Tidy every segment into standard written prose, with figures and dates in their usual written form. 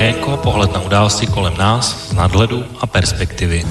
Okénko, pohled na události kolem nás z nadhledu a perspektivy.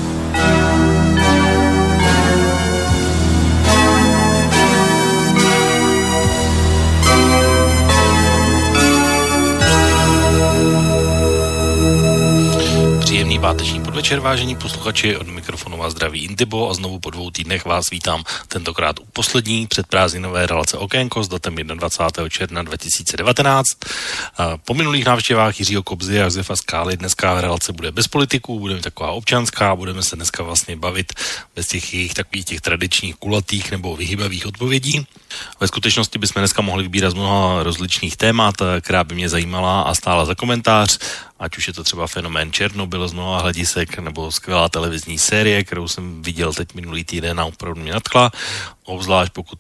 Příjemný páteční podvečer, vážení posluchači, od mikrofonu vás zdraví Intibo a znovu po 2 týdnech vás vítám tentokrát u poslední předprázdninové relace Okénko s datem 21. června 2019. Po minulých návštěvách Jiřího Kobzy a Josefa Skály dneska relace bude bez politiků, bude taková občanská, budeme se dneska vlastně bavit bez těch jejich takových těch tradičních kulatých nebo vyhybavých odpovědí. Ve skutečnosti bychom dneska mohli vybírat z mnoha rozličných témat, která by mě zajímala a stála za komentář, ať už je to třeba fenomén Černobyl z mnoha hledisek, nebo skvělá televizní série, kterou jsem viděl teď minulý týden a opravdu mě nadchla, obzvlášť pokud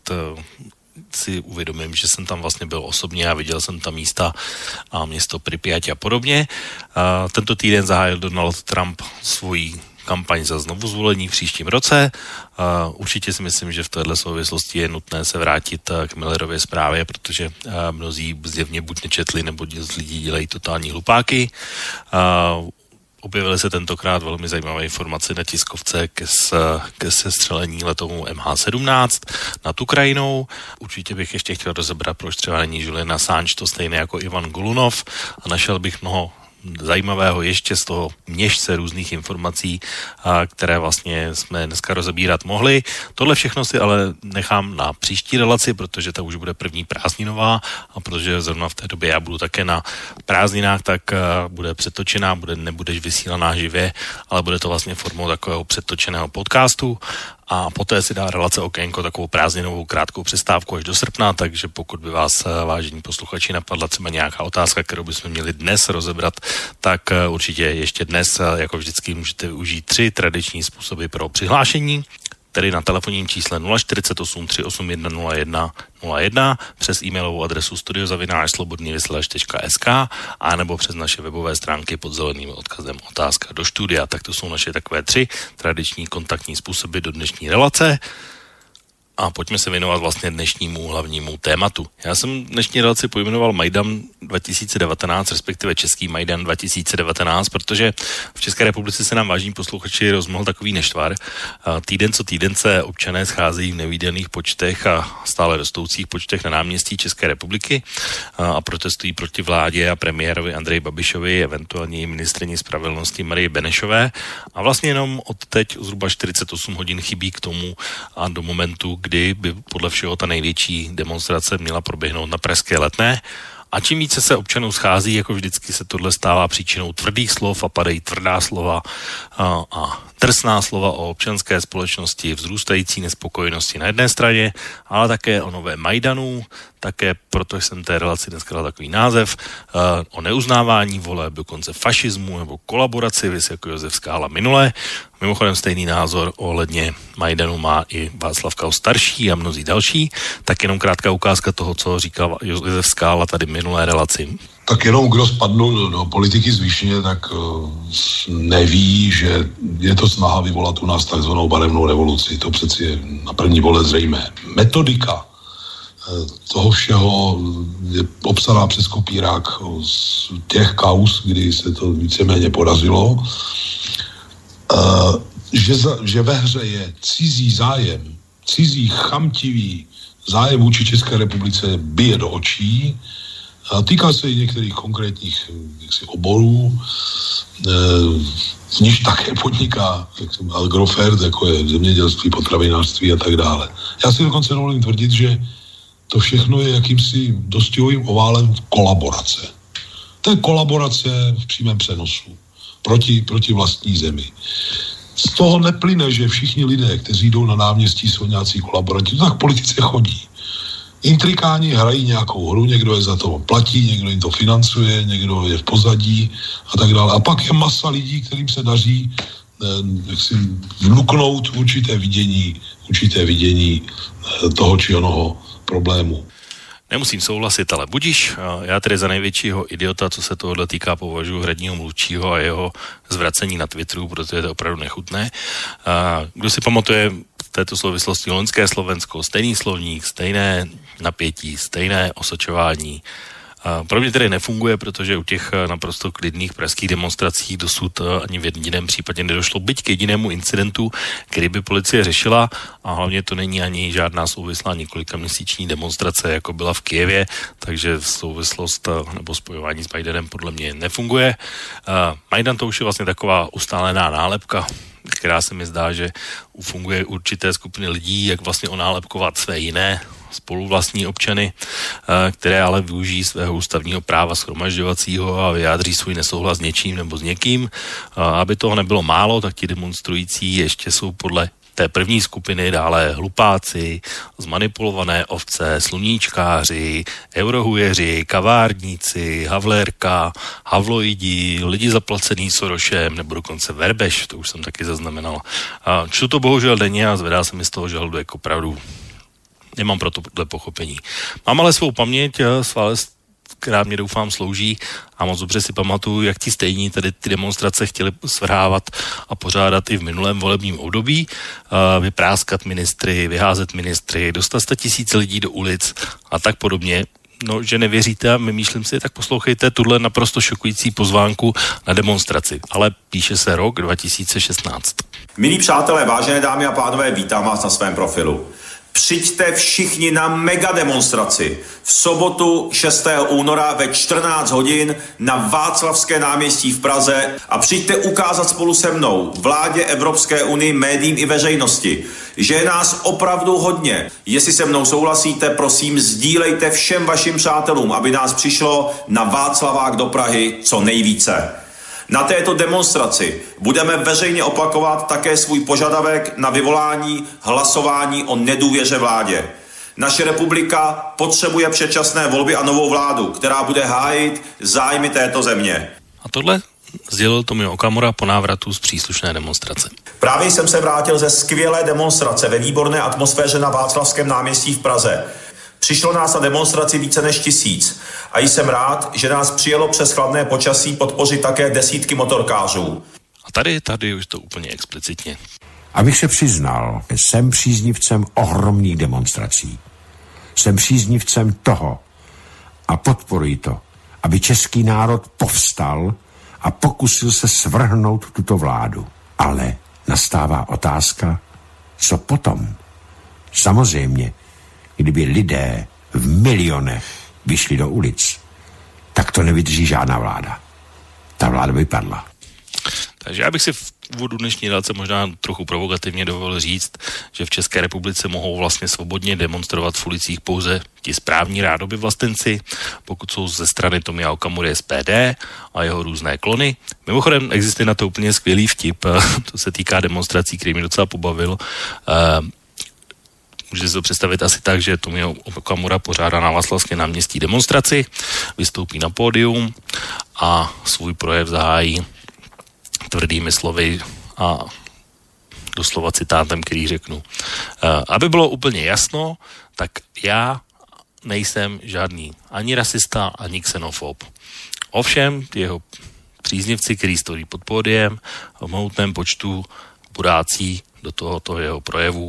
si uvědomím, že jsem tam vlastně byl osobně a viděl jsem tam místa a město Pripyat a podobně. Tento týden zahájil Donald Trump svoji kampaň za znovu zvolení v příštím roce. Určitě si myslím, že v této souvislosti je nutné se vrátit k Millerově zprávě, protože mnozí zjevně buď nečetli, nebo z lidí dělají totální hlupáky. Objevily se tentokrát velmi zajímavé informace na tiskovce ke sestřelení letounu MH17 nad Ukrajinou. Určitě bych ještě chtěl rozebrat, proč třeba není Julian Assange to stejné jako Ivan Golunov, a našel bych mnoho zajímavého ještě z toho měšce různých informací, které vlastně jsme dneska rozebírat mohli. Tohle všechno si ale nechám na příští relaci, protože ta už bude první prázdninová a protože zrovna v té době já budu také na prázdninách, tak bude přetočená, nebudeš vysílaná živě, ale bude to vlastně formou takového přetočeného podcastu. A poté si dá relace Okénko takovou prázdninovou krátkou přestávku až do srpna, takže pokud by vás, vážení posluchači, napadla třeba nějaká otázka, kterou bychom měli dnes rozebrat, tak určitě ještě dnes, jako vždycky, můžete využít 3 tradiční způsoby pro přihlášení, tedy na telefonním čísle 048 381 0101, přes e-mailovou adresu studio@slobodnyvysielac.sk a nebo přes naše webové stránky pod zeleným odkazem otázka do studia. Tak to jsou naše takové 3 tradiční kontaktní způsoby do dnešní relace. A pojďme se věnovat vlastně dnešnímu hlavnímu tématu. Já jsem dnešní relaci pojmenoval Majdan 2019, respektive Český Majdan 2019, protože v České republice se nám, vážení posluchači, rozmohl takový nešvar. Týden co týden se občané scházejí v nevídaných počtech a stále rostoucích počtech na náměstí České republiky a protestují proti vládě a premiérovi Andreji Babišovi, eventuálně i ministryni spravedlnosti Marii Benešové. A vlastně jenom od teď zhruba 48 hodin chybí k tomu a do momentu, kdy by podle všeho ta největší demonstrace měla proběhnout na Pražské Letné. A čím více se občanů schází, jako vždycky se tohle stává příčinou tvrdých slov a padají tvrdá slova a drsná slova o občanské společnosti, vzrůstající nespokojenosti na jedné straně, ale také o novém Majdanu, také proto jsem té relaci dneska dal takový název, o neuznávání voleb, dokonce fašismu nebo kolaboraci, vys jako Josef Skála minule. Mimochodem stejný názor ohledně Majdanu má i Václav Klaus starší a mnozí další. Tak jenom krátká ukázka toho, co říkal Josef Skála tady minulé relaci. Tak jenom kdo spadnul do politiky zvýšeně, tak neví, že je to snaha vyvolat u nás takzvanou barevnou revoluci. To přeci je na první pohled zřejmé. Metodika toho všeho je obsaná přes kopírák z těch kauz, kdy se to víceméně podařilo. Že ve hře je cizí zájem, cizí chamtivý zájem vůči České republice bije do očí. Týká se i některých konkrétních oborů, v níž také podniká Agrofert, jako je zemědělství, potravinářství a tak dále. Já si dokonce dovolím tvrdit, že to všechno je jakýmsi dostihovým oválem kolaborace. To je kolaborace v přímém přenosu proti vlastní zemi. Z toho neplyne, že všichni lidé, kteří jdou na náměstí, jsou nějací kolaboranti. To tak v politice chodí. Intrikáni hrají nějakou hru, někdo je za to platí, někdo jim to financuje, někdo je v pozadí a tak dále. A pak je masa lidí, kterým se daří vnuknout určité vidění toho či onoho problému. Nemusím souhlasit, ale budiš. Já tedy za největšího idiota, co se tohohle týká, považuji hradního mluvčího a jeho zvracení na Twitteru, protože je to opravdu nechutné. Kdo si pamatuje v této souvislosti loňské Slovensko, stejný slovník, stejné napětí, stejné osočování, Pro mě tedy nefunguje, protože u těch naprosto klidných pražských demonstrací dosud ani v jediném případě nedošlo byť k jedinému incidentu, který by policie řešila, a hlavně to není ani žádná souvislá několikaměsíční demonstrace, jako byla v Kyjevě, takže souvislost nebo spojování s Majdanem podle mě nefunguje. Majdan to už je vlastně taková ustálená nálepka, která se mi zdá, že funguje určité skupiny lidí, jak vlastně onálepkovat své jiné spoluvlastní občany, které ale využijí svého ústavního práva shromažďovacího a vyjádří svůj nesouhlas s něčím nebo s někým. Aby toho nebylo málo, tak ti demonstrující ještě jsou podle té první skupiny dále hlupáci, zmanipulované ovce, sluníčkáři, eurohujeři, kavárníci, havlérka, havloidi, lidi zaplacený Sorošem nebo dokonce Verbeš, to už jsem taky zaznamenal. Čtu to bohužel denně a zvedá se mi z toho žaludek opravdu. Nemám pro tohle pochopení. Mám ale svou paměť, která mě doufám slouží, a moc dobře si pamatuju, jak ti stejní tady ty demonstrace chtěli svrhávat a pořádat i v minulém volebním období, vypráskat ministry, vyházet ministry, dostat 100 000 lidí do ulic a tak podobně. No, že nevěříte a vymýšlím si, tak poslouchejte tuhle naprosto šokující pozvánku na demonstraci. Ale píše se rok 2016. Milí přátelé, vážené dámy a pánové, vítám vás na svém profilu. Přijďte všichni na megademonstraci v sobotu 6. února ve 14 hodin na Václavské náměstí v Praze a přijďte ukázat spolu se mnou, vládě, Evropské unii, médiím i veřejnosti, že je nás opravdu hodně. Jestli se mnou souhlasíte, prosím, sdílejte všem vašim přátelům, aby nás přišlo na Václavák do Prahy co nejvíce. Na této demonstraci budeme veřejně opakovat také svůj požadavek na vyvolání hlasování o nedůvěře vládě. Naše republika potřebuje předčasné volby a novou vládu, která bude hájit zájmy této země. A tohle sdělil Tomio Okamura po návratu z příslušné demonstrace. Právě jsem se vrátil ze skvělé demonstrace ve výborné atmosféře na Václavském náměstí v Praze. Přišlo nás na demonstraci více než 1000 a jsem rád, že nás přijelo přes chladné počasí podpořit také desítky motorkářů. A tady už to úplně explicitně. Abych se přiznal, jsem příznivcem ohromných demonstrací. Jsem příznivcem toho a podporuji to, aby český národ povstal a pokusil se svrhnout tuto vládu. Ale nastává otázka, co potom? Samozřejmě, kdyby lidé v milionech vyšli do ulic, tak to nevydrží žádná vláda. Ta vláda by padla. Takže já bych si v úvodu dnešní relace možná trochu provokativně dovolil říct, že v České republice mohou vlastně svobodně demonstrovat v ulicích pouze ti správní rádoby vlastenci, pokud jsou ze strany Tomia Okamury SPD a jeho různé klony. Mimochodem existuje na to úplně skvělý vtip, to se týká demonstrací, který mě docela pobavil. Můžete si to představit asi tak, že Tomio Okamura pořádá na Václavském náměstí demonstraci, vystoupí na pódium a svůj projev zahájí tvrdými slovy a doslova citátem, který řeknu. Aby bylo úplně jasno, tak já nejsem žádný ani rasista, ani xenofob. Ovšem, jeho příznivci, který stojí pod pódiem, v mohutném počtu budácí do tohoto jeho projevu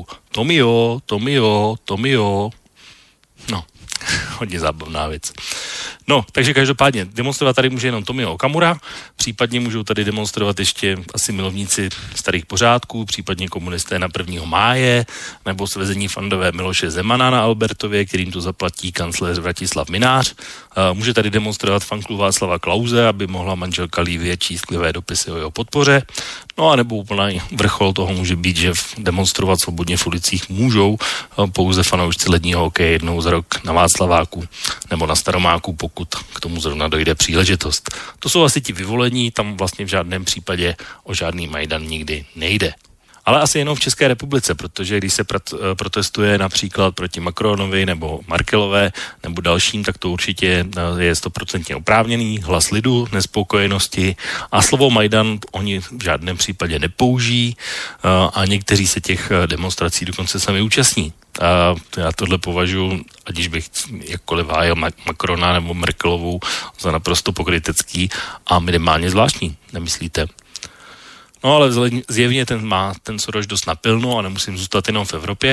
Tomio. No, hodně zábavná věc. No, takže každopádně demonstrovat tady může jenom Tomio Okamura, případně můžou tady demonstrovat ještě asi milovníci starých pořádků, případně komunisté na 1. máje, nebo svezení fandové Miloše Zemana na Albertově, kterým to zaplatí kancléř Vratislav Minář. Může tady demonstrovat fanklub Václava Klause, aby mohla manželka Lívie číst sklivé dopisy o jeho podpoře. No a nebo úplný vrchol toho může být, že demonstrovat svobodně v ulicích můžou pouze fanoušci ledního hokeje jednou za rok na Václaváku nebo na Staromáku, pokud k tomu zrovna dojde příležitost. To jsou asi ti vyvolení, tam vlastně v žádném případě o žádný Majdan nikdy nejde. Ale asi jenom v České republice, protože když se protestuje například proti Macronovi nebo Merkelové nebo dalším, tak to určitě je 100% oprávněný hlas lidu, nespokojenosti a slovo Majdan oni v žádném případě nepoužijí a někteří se těch demonstrací dokonce sami účastní. A já tohle považuji, ať bych jakkoliv hájil Macrona nebo Merkelovou, za naprosto pokrytecký a minimálně zvláštní, nemyslíte? No ale zjevně ten má ten Soros dost napilno a nemusím zůstat jenom v Evropě,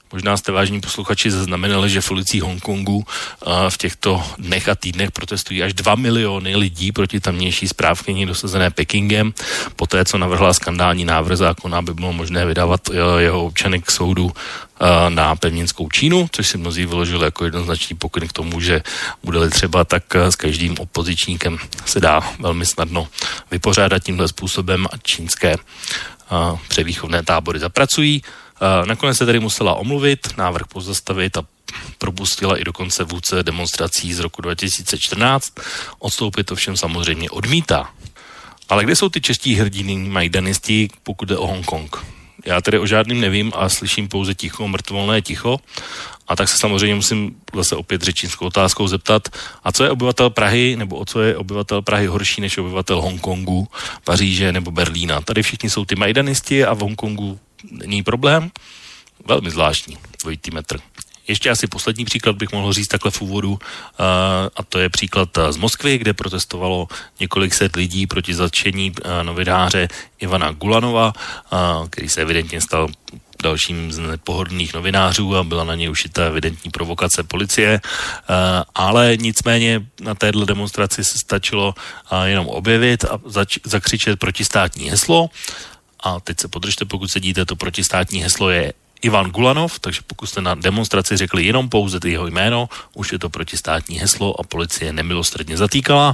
Možná jste, vážní posluchači, zaznamenali, že v ulicích Hongkongu v těchto dnech a týdnech protestují až 2 miliony lidí proti tamnější správkyni dosazené Pekingem, poté co navrhla skandální návrh zákona, aby bylo možné vydávat jeho občany k soudu na pevninskou Čínu, což si mnozí vyložili jako jednoznačný pokyn k tomu, že bude-li třeba, tak s každým opozičníkem se dá velmi snadno vypořádat tímhle způsobem a čínské převýchovné tábory zapracují. Nakonec se tedy musela omluvit, návrh pozastavit a propustila i dokonce vůdce demonstrací z roku 2014. Odstoupit to všem samozřejmě odmítá. Ale kde jsou ty čeští hrdiny majdanisti, pokud jde o Hongkong? Já tedy o žádným nevím a slyším pouze ticho, mrtvolné ticho. A tak se samozřejmě musím zase opět řečnickou otázkou zeptat, a co je obyvatel Prahy, nebo o co je obyvatel Prahy horší než obyvatel Hongkongu, Paříže nebo Berlína? Tady všichni jsou ty majdanisti a v Hongkongu není problém. Velmi zvláštní, dvojitý metr. Ještě asi poslední příklad bych mohl říct takhle v úvodu, a to je příklad z Moskvy, kde protestovalo několik set lidí proti zatčení novináře Ivana Gulanova, který se evidentně stal dalším z nepohodlných novinářů a byla na něj ušita evidentní provokace policie, ale nicméně na téhle demonstraci se stačilo jenom objevit a zakřičet protistátní heslo. A teď se podržte, pokud sedíte, to protistátní heslo je Ivan Gulanov, takže pokud jste na demonstraci řekli jenom pouze jeho jméno, už je to protistátní heslo a policie nemilosrdně zatýkala.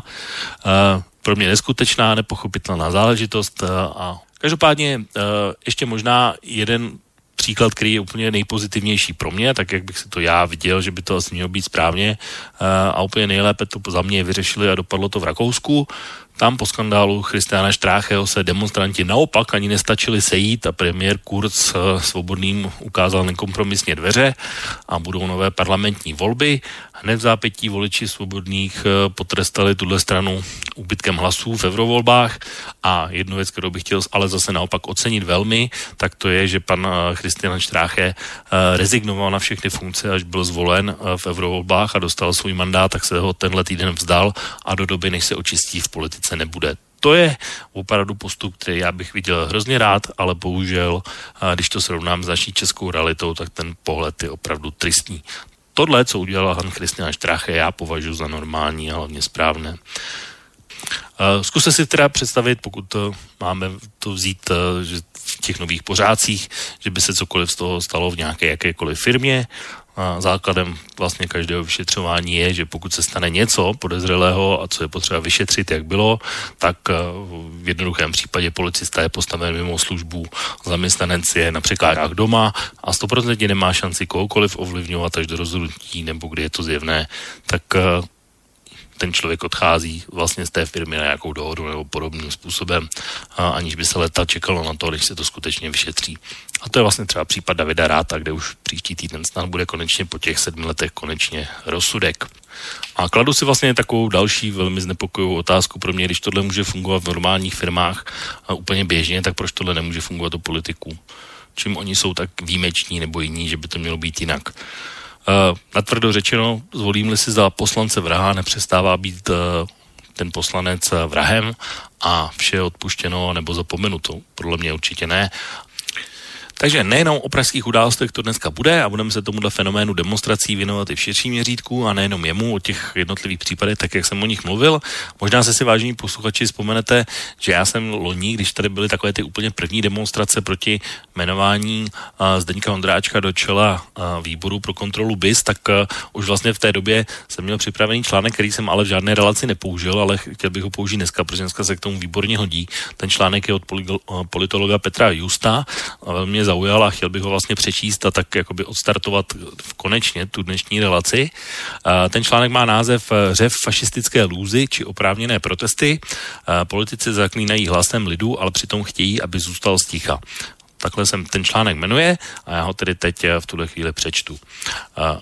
Pro mě neskutečná, nepochopitelná záležitost a každopádně ještě možná jeden příklad, který je úplně nejpozitivnější pro mě, tak jak bych si to já viděl, že by to asi mělo být správně a úplně nejlépe to za mě vyřešili a dopadlo to v Rakousku. Tam po skandálu Christiana Strácheho se demonstranti naopak ani nestačili sejít a premiér Kurz Svobodným ukázal nekompromisně dveře a budou nové parlamentní volby. Hned v zápětí voliči Svobodných potrestali tuhle stranu úbytkem hlasů v eurovolbách a jednu věc, kterou bych chtěl ale zase naopak ocenit velmi, tak to je, že pan Christian Stráche rezignoval na všechny funkce, až byl zvolen v eurovolbách a dostal svůj mandát, tak se ho tenhle týden vzdal a do doby, než se očistí v politice, nebude. To je opravdu postup, který já bych viděl hrozně rád, ale bohužel, když to srovnám s naší českou realitou, tak ten pohled je opravdu tristní. Tohle, co udělal Han Christian Strache, já považuji za normální a hlavně správné. Zkuste si teda představit, pokud máme to vzít že v těch nových pořádcích, že by se cokoliv z toho stalo v nějaké jakékoliv firmě. Základem vlastně každého vyšetřování je, že pokud se stane něco podezřelého a co je potřeba vyšetřit, jak bylo, tak v jednoduchém případě policista je postaven mimo službu, zaměstnanec je na překážkách doma a 100% nemá šanci kohokoliv ovlivňovat až do rozhodnutí, nebo kdy je to zjevné, tak ten člověk odchází vlastně z té firmy na nějakou dohodu nebo podobným způsobem, aniž by se leta čekalo na to, než se to skutečně vyšetří. A to je vlastně třeba případ Davida Ráta, kde už příští týden snad bude konečně po těch 7 letech konečně rozsudek. A kladu si vlastně takovou další velmi znepokojivou otázku pro mě, když tohle může fungovat v normálních firmách úplně běžně, tak proč tohle nemůže fungovat u politiků? Čím oni jsou tak výjimeční nebo jiní, že by to mělo být jinak? Natvrdo řečeno, zvolím-li si za poslance vraha, nepřestává být ten poslanec vrahem a vše je odpuštěno nebo zapomenuto. Podle mě určitě ne. Takže nejenom o pražských událostech to dneska bude a budeme se tomuhle fenoménu demonstrací věnovat i v širším měřítku a nejenom jemu, o těch jednotlivých případech, tak jak jsem o nich mluvil. Možná si vážení posluchači vzpomenete, že já jsem loni, když tady byly takové ty úplně první demonstrace proti jmenování Zdeňka Ondráčka do čela výboru pro kontrolu BIS, tak už vlastně v té době jsem měl připravený článek, který jsem ale v žádné relaci nepoužil, ale chtěl bych ho použít dneska, protože dneska se k tomu výborně hodí. Ten článek je od politologa Petra Justa a velmi zaujal a chtěl bych ho vlastně přečíst a tak jakoby odstartovat konečně tu dnešní relaci. Ten článek má název Řev fašistické lůzy či oprávněné protesty. Politici zaklínají hlasem lidu, ale přitom chtějí, aby zůstal sticha. Takhle se ten článek jmenuje a já ho tedy teď v tuhle chvíli přečtu.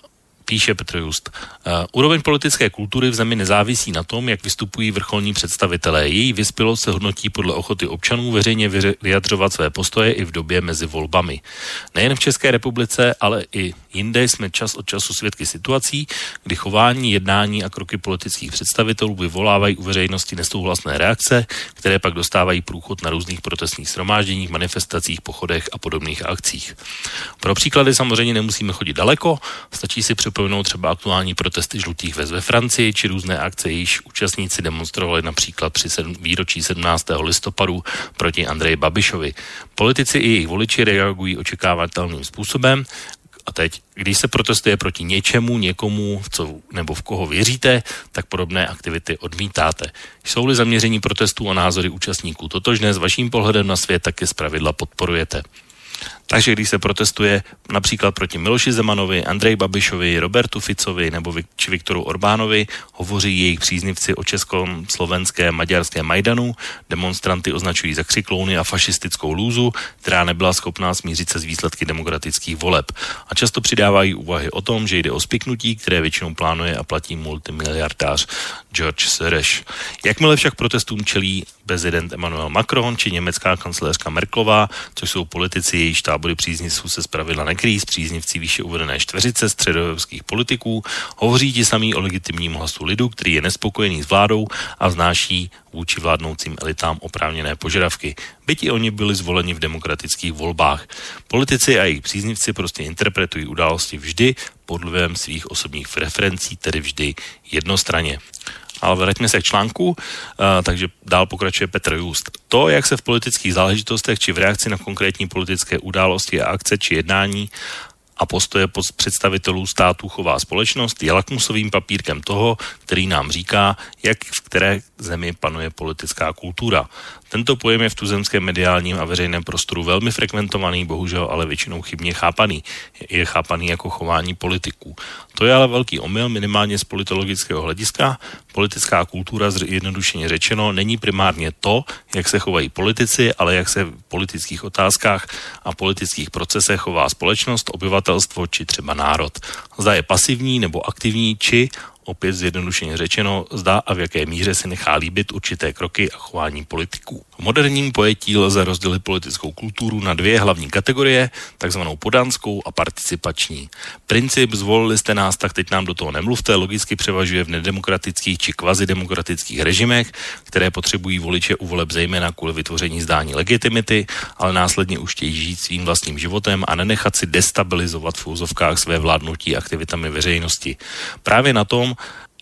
Píše Petr Just. Úroveň politické kultury v zemi nezávisí na tom, jak vystupují vrcholní představitelé. Její vyspělost se hodnotí podle ochoty občanů veřejně vyjadřovat své postoje i v době mezi volbami. Nejen v České republice, ale i jinde jsme čas od času svědky situací, kdy chování, jednání a kroky politických představitelů vyvolávají u veřejnosti nesouhlasné reakce, které pak dostávají průchod na různých protestních shromážděních, manifestacích, pochodech a podobných akcích. Pro příklady samozřejmě nemusíme chodit daleko, stačí si připomenout třeba aktuální protesty žlutých vest ve Francii či různé akce, jejichž účastníci demonstrovali například při výročí 17. listopadu proti Andreji Babišovi. Politici i jejich voliči reagují očekávatelným způsobem. A teď, když se protestuje proti něčemu, někomu, nebo v koho věříte, tak podobné aktivity odmítáte. Jsou-li zaměření protestů a názory účastníků totožné s vaším pohledem na svět, tak je zpravidla podporujete. Takže když se protestuje například proti Miloši Zemanovi, Andreji Babišovi, Robertu Ficovi nebo či Viktoru Orbánovi, hovoří jejich příznivci o českom, slovenském, maďarském Majdanu, demonstranty označují za křiklouny a fašistickou lůzu, která nebyla schopná smířit se s výsledky demokratických voleb. A často přidávají úvahy o tom, že jde o spiknutí, které většinou plánuje a platí multimiliardář George Soros. Jakmile však protestům čelí prezident Emmanuel Macron či německá kancléřka Merkelová, což jsou politici, jejíž tábory příznivců se zpravidla nekryjí s příznivci výše uvedené čtveřice středoevropských politiků, hovoří ti samý o legitimním hlasu lidu, který je nespokojený s vládou a vznáší vůči vládnoucím elitám oprávněné požadavky. Byť i oni byli zvoleni v demokratických volbách. Politici a jejich příznivci prostě interpretují události vždy pod vlivem svých osobních preferencí, tedy vždy jednostranně. Ale vraťme se k článku, takže dál pokračuje Petr Just. To, jak se v politických záležitostech či v reakci na konkrétní politické události a akce či jednání a postoje představitelů států chová společnost, je lakmusovým papírkem toho, který nám říká, jak v které zemi panuje politická kultura. Tento pojem je v tuzemském mediálním a veřejném prostoru velmi frekventovaný, bohužel ale většinou chybně chápaný. Je chápaný jako chování politiků. To je ale velký omyl, minimálně z politologického hlediska. Politická kultura, jednodušeně řečeno, není primárně to, jak se chovají politici, ale jak se v politických otázkách a politických procesech chová společnost, obyvatelstvo či třeba národ. Zda je pasivní nebo aktivní, či opět zjednodušeně řečeno, zda a v jaké míře si nechá líbit určité kroky a chování politiků. V moderním pojetí lze rozdělit politickou kulturu na dvě hlavní kategorie, takzvanou podanskou a participační. Princip zvolili jste nás, tak teď nám do toho nemluvte, logicky převažuje v nedemokratických či kvazidemokratických režimech, které potřebují voliče u voleb zejména kvůli vytvoření zdání legitimity, ale následně už chtějí žít svým vlastním životem a nenechat si destabilizovat v úzovkách své vládnutí aktivitami veřejnosti. Právě na tom,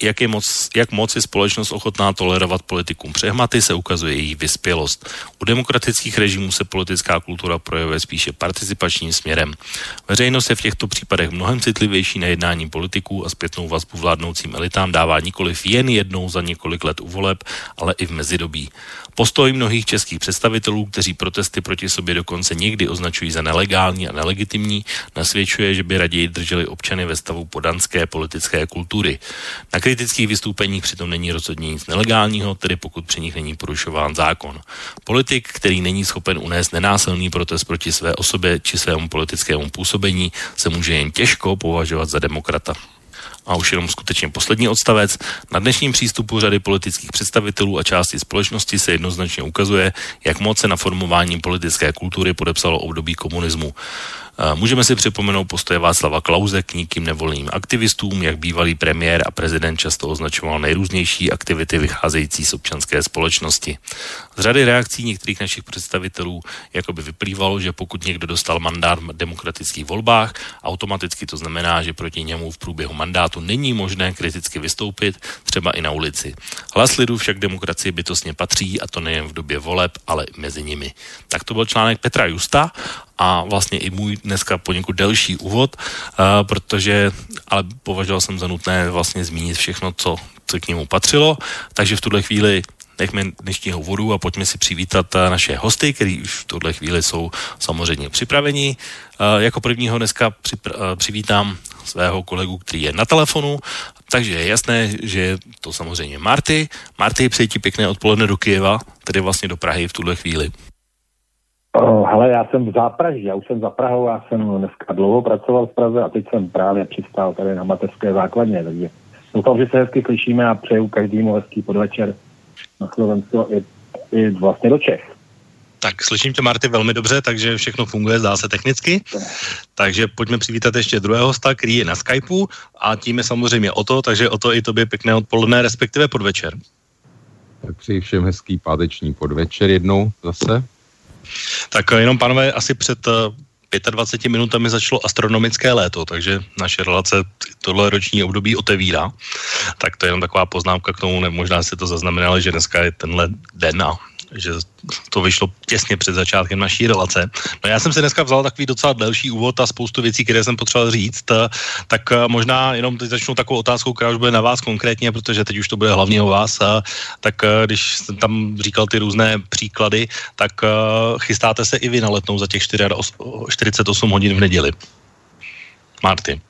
jak moc je společnost ochotná tolerovat politikům přehmaty, se ukazuje její vyspělost. U demokratických režimů se politická kultura projevuje spíše participačním směrem. Veřejnost je v těchto případech mnohem citlivější na jednání politiků a zpětnou vazbu vládnoucím elitám dává nikoliv jen jednou za několik let u voleb, ale i v mezidobí. Postoj mnohých českých představitelů, kteří protesty proti sobě dokonce někdy označují za nelegální a nelegitimní, nasvědčuje, že by raději drželi občany ve stavu podanské politické kultury. Na kritických vystoupeních přitom není rozhodně nic nelegálního, tedy pokud při nich není porušován zákon. Politik, který není schopen unést nenásilný protest proti své osobě či svému politickému působení, se může jen těžko považovat za demokrata. A už jenom skutečně poslední odstavec. Na dnešním přístupu řady politických představitelů a části společnosti se jednoznačně ukazuje, jak moc se na formování politické kultury podepsalo období komunismu. Můžeme si připomenout postoje Václava Klause k nikým nevoleným aktivistům, jak bývalý premiér a prezident často označoval nejrůznější aktivity vycházející z občanské společnosti. Z řady reakcí některých našich představitelů jakoby vyplývalo, že pokud někdo dostal mandát v demokratických volbách, automaticky to znamená, že proti němu v průběhu mandátu není možné kriticky vystoupit, třeba i na ulici. Hlas lidu však demokracii bytostně patří, a to nejen v době voleb, ale i mezi nimi. Tak to byl článek Petra Justa a vlastně i můj dneska poněkud delší úvod, protože ale považoval jsem za nutné vlastně zmínit všechno, co k němu patřilo, takže v tuhle chvíli nechme dnešního úvodu a pojďme si přivítat naše hosty, kteří už v tuhle chvíli jsou samozřejmě připraveni. Jako prvního dneska přivítám svého kolegu, který je na telefonu, takže je jasné, že je to samozřejmě Marty. Marty, přeji ti pěkné odpoledne do Kyjeva, tedy vlastně do Prahy v tuhle chvíli. Hele, já jsem v Zápraží, já už jsem za Prahou, já jsem dneska dlouho pracoval v Praze a teď jsem právě přistál tady na mateřské základně, takže doufám, že se hezky slyšíme a přeju každému hezký podvečer na Slovensku i vlastně do Čech. Tak slyším tě, Marty, velmi dobře, takže všechno funguje, zdá se technicky. Takže pojďme přivítat ještě druhého hosta, který je na Skypeu a tím je samozřejmě Oto, takže Oto i tobě pěkné odpoledne, respektive podvečer. Tak přeji všem hezký páteční podvečer jednou zase. Tak jenom, pánové, asi před 25 minutami začalo astronomické léto, takže naše relace tohle roční období otevírá. Tak to je jenom taková poznámka k tomu, možná jste to zaznamenali, že dneska je tenhle den a že to vyšlo těsně před začátkem naší relace. No já jsem si dneska vzal takový docela delší úvod a spoustu věcí, které jsem potřeboval říct, tak možná jenom teď začnu takovou otázkou, která už bude na vás konkrétně, protože teď už to bude hlavně o vás, tak když jsem tam říkal ty různé příklady, tak chystáte se i vy na Letnou za těch 48 hodin v neděli. Marty.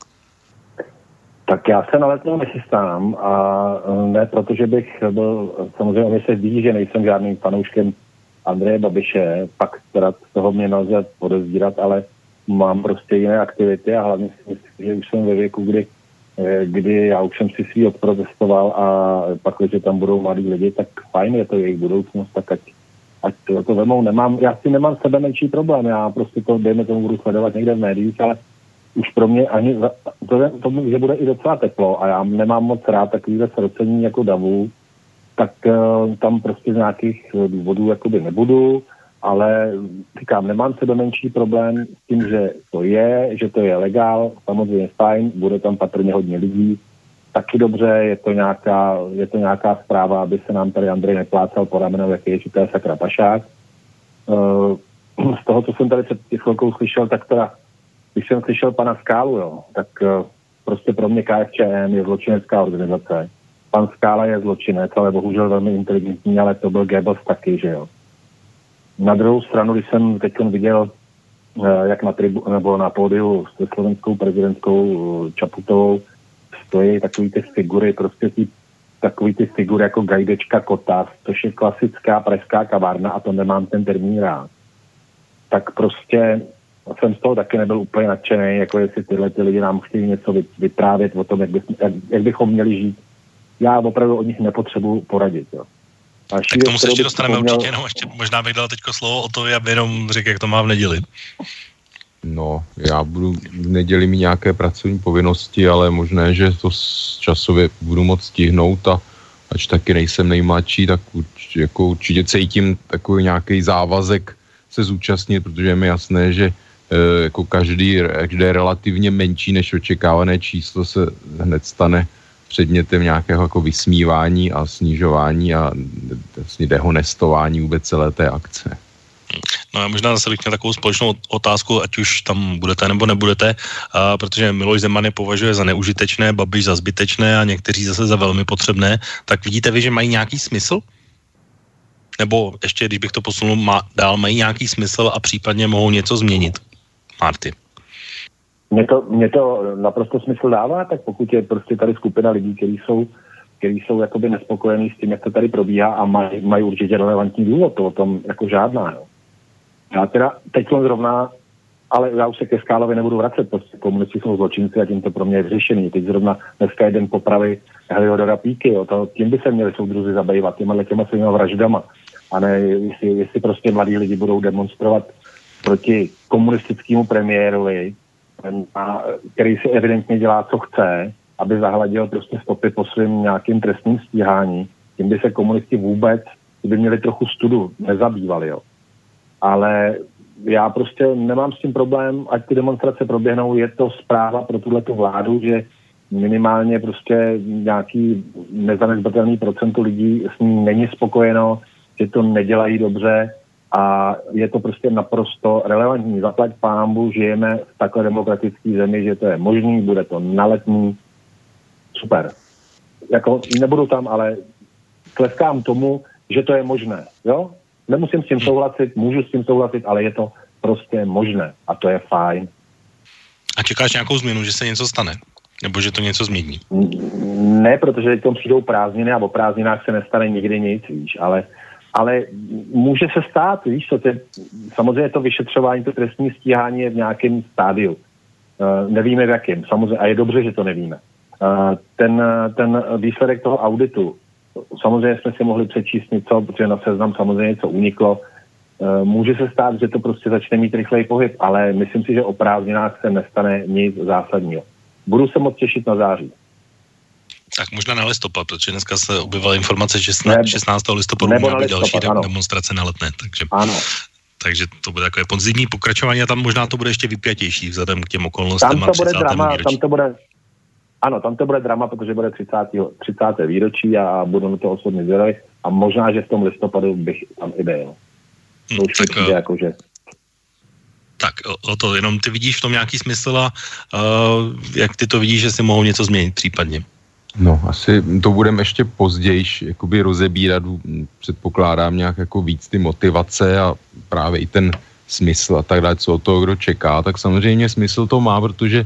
Tak já se na Letnou nechystám a ne protože bych byl, samozřejmě mi se ví, že nejsem žádným fanouškem Andreje Babiše, pak teda z toho mě nelze podezírat, ale mám prostě jiné aktivity a hlavně si myslím, že už jsem ve věku, kdy já už jsem si svý odprotestoval a pak, když tam budou mladí lidi, tak fajn, je to jejich budoucnost, tak ať to vemou. Já si nemám sebe menší problém, já prostě to, dejme tomu, budu sledovat někde v médiích, ale už pro mě ani to, že bude i docela teplo a já nemám moc rád takovýhle srocení jako davu, tak tam prostě z nějakých důvodů jakoby nebudu, ale říkám, nemám sebe menší problém s tím, že to je legál, samozřejmě fajn, bude tam patrně hodně lidí, taky dobře, je to nějaká zpráva, aby se nám tady Andrej neplácal po ramenou, jak je, že to je sakra pašák. Z toho, co jsem tady před chvilkou slyšel, tak teda když jsem slyšel pana Skálu, jo, tak prostě pro mě KSČM je zločinecká organizace. Pan Skála je zločinec, ale bohužel velmi inteligentní, ale to byl Goebbels taky, že jo. Na druhou stranu, když jsem teď viděl, jak na pódiu s slovenskou prezidentskou Čaputovou stojí takový ty figury, prostě takový ty figury jako Gajdečka Kotas, což je klasická pražská kavárna a to nemám ten termín rád. Tak prostě jsem z toho taky nebyl úplně nadšený, jako jestli tyhle ty lidi nám chtějí něco vyprávět o tom, jak bychom měli žít. Já opravdu od nich nepotřebuji poradit. Jo. Tak k tomu se ještě dostaneme určitě, no ještě možná bych dal teďko slovo o to, aby jenom řekl, jak to má v neděli. No, já budu v neděli mít nějaké pracovní povinnosti, ale možné, že to časově budu moc stihnout a ač taky nejsem nejmladší, tak určitě cítím takový nějaký závazek se zúčastnit, protože je mi jasné, že jako každé relativně menší než očekávané číslo se hned stane předmětem nějakého jako vysmívání a snižování a vlastně dehonestování vůbec celé té akce. No já možná zase bych měl takovou společnou otázku, ať už tam budete nebo nebudete, protože Miloš Zeman je považuje za neužitečné, Babiš za zbytečné a někteří zase za velmi potřebné, tak vidíte vy, že mají nějaký smysl? Nebo ještě, když bych to posunul dál, mají nějaký smysl a případně mohou něco změnit? Marty. Mně to naprosto smysl dává, tak pokud je prostě tady skupina lidí, kteří jsou jakoby nespokojení s tím, jak to tady probíhá a mají určitě relevantní důvod, to o tom jako žádná, jo. Já teda teď zrovna, ale já už se ke Skálovi nebudu vracet, prostě komunisti jsou zločinci a tím to pro mě je vyřešený. Teď zrovna dneska jeden popravy Heliodora Píky, jo, tím by se měli soudruzi zabývat, těma svýma vraždama. A ne, jestli prostě mladí lidi budou demonstrovat proti komunistickému premiérovi, který si evidentně dělá, co chce, aby zahladil prostě stopy po svým nějakým trestním stíhání. Tím by se komunisti vůbec, by měli trochu studu, nezabývali, jo. Ale já prostě nemám s tím problém, ať ty demonstrace proběhnou, je to zpráva pro tuhletu vládu, že minimálně prostě nějaký nezanedbatelný procento lidí s ní není spokojeno, že to nedělají dobře a je to prostě naprosto relevantní. Zaplať pánbu, žijeme v takové demokratické zemi, že to je možný, bude to na Letní. Super. Jako nebudu tam, ale tleskám tomu, že to je možné. Jo? Nemusím s tím souhlasit, můžu s tím souhlasit, ale je to prostě možné a to je fajn. A čekáš nějakou změnu, že se něco stane? Nebo že to něco změní? Ne, protože teď přijdou prázdniny a o prázdninách se nestane nikdy nic, víš, Ale může se stát, víš co, samozřejmě to vyšetřování, to trestní stíhání je v nějakém stádiu. Nevíme v jakém, samozřejmě, a je dobře, že to nevíme. Ten výsledek toho auditu, samozřejmě jsme si mohli přečíst něco, protože na Seznam samozřejmě něco uniklo. Může se stát, že to prostě začne mít rychlej pohyb, ale myslím si, že o prázdninách se nestane nic zásadního. Budu se moc těšit na září. Tak možná na listopad, protože dneska se objevila informace, že 16. listopadu má být další demonstrace na Letné, takže... Ano. Takže to bude takové podzimní pokračování a tam možná to bude ještě vypjatější vzhledem k těm okolnostem. Tam to bude drama, tam to bude drama, protože bude 30. výročí a budu na to osobně zvědavý a možná, že v tom listopadu bych tam i byl. To už tak, přijde jakože... Tak o to, jenom ty vidíš v tom nějaký smysl a jak ty to vidíš, že si mohou něco změnit případně? No, asi to budeme ještě později jakoby rozebírat, předpokládám nějak jako víc ty motivace a právě i ten smysl a tak dále, co od toho kdo čeká, tak samozřejmě smysl to má, protože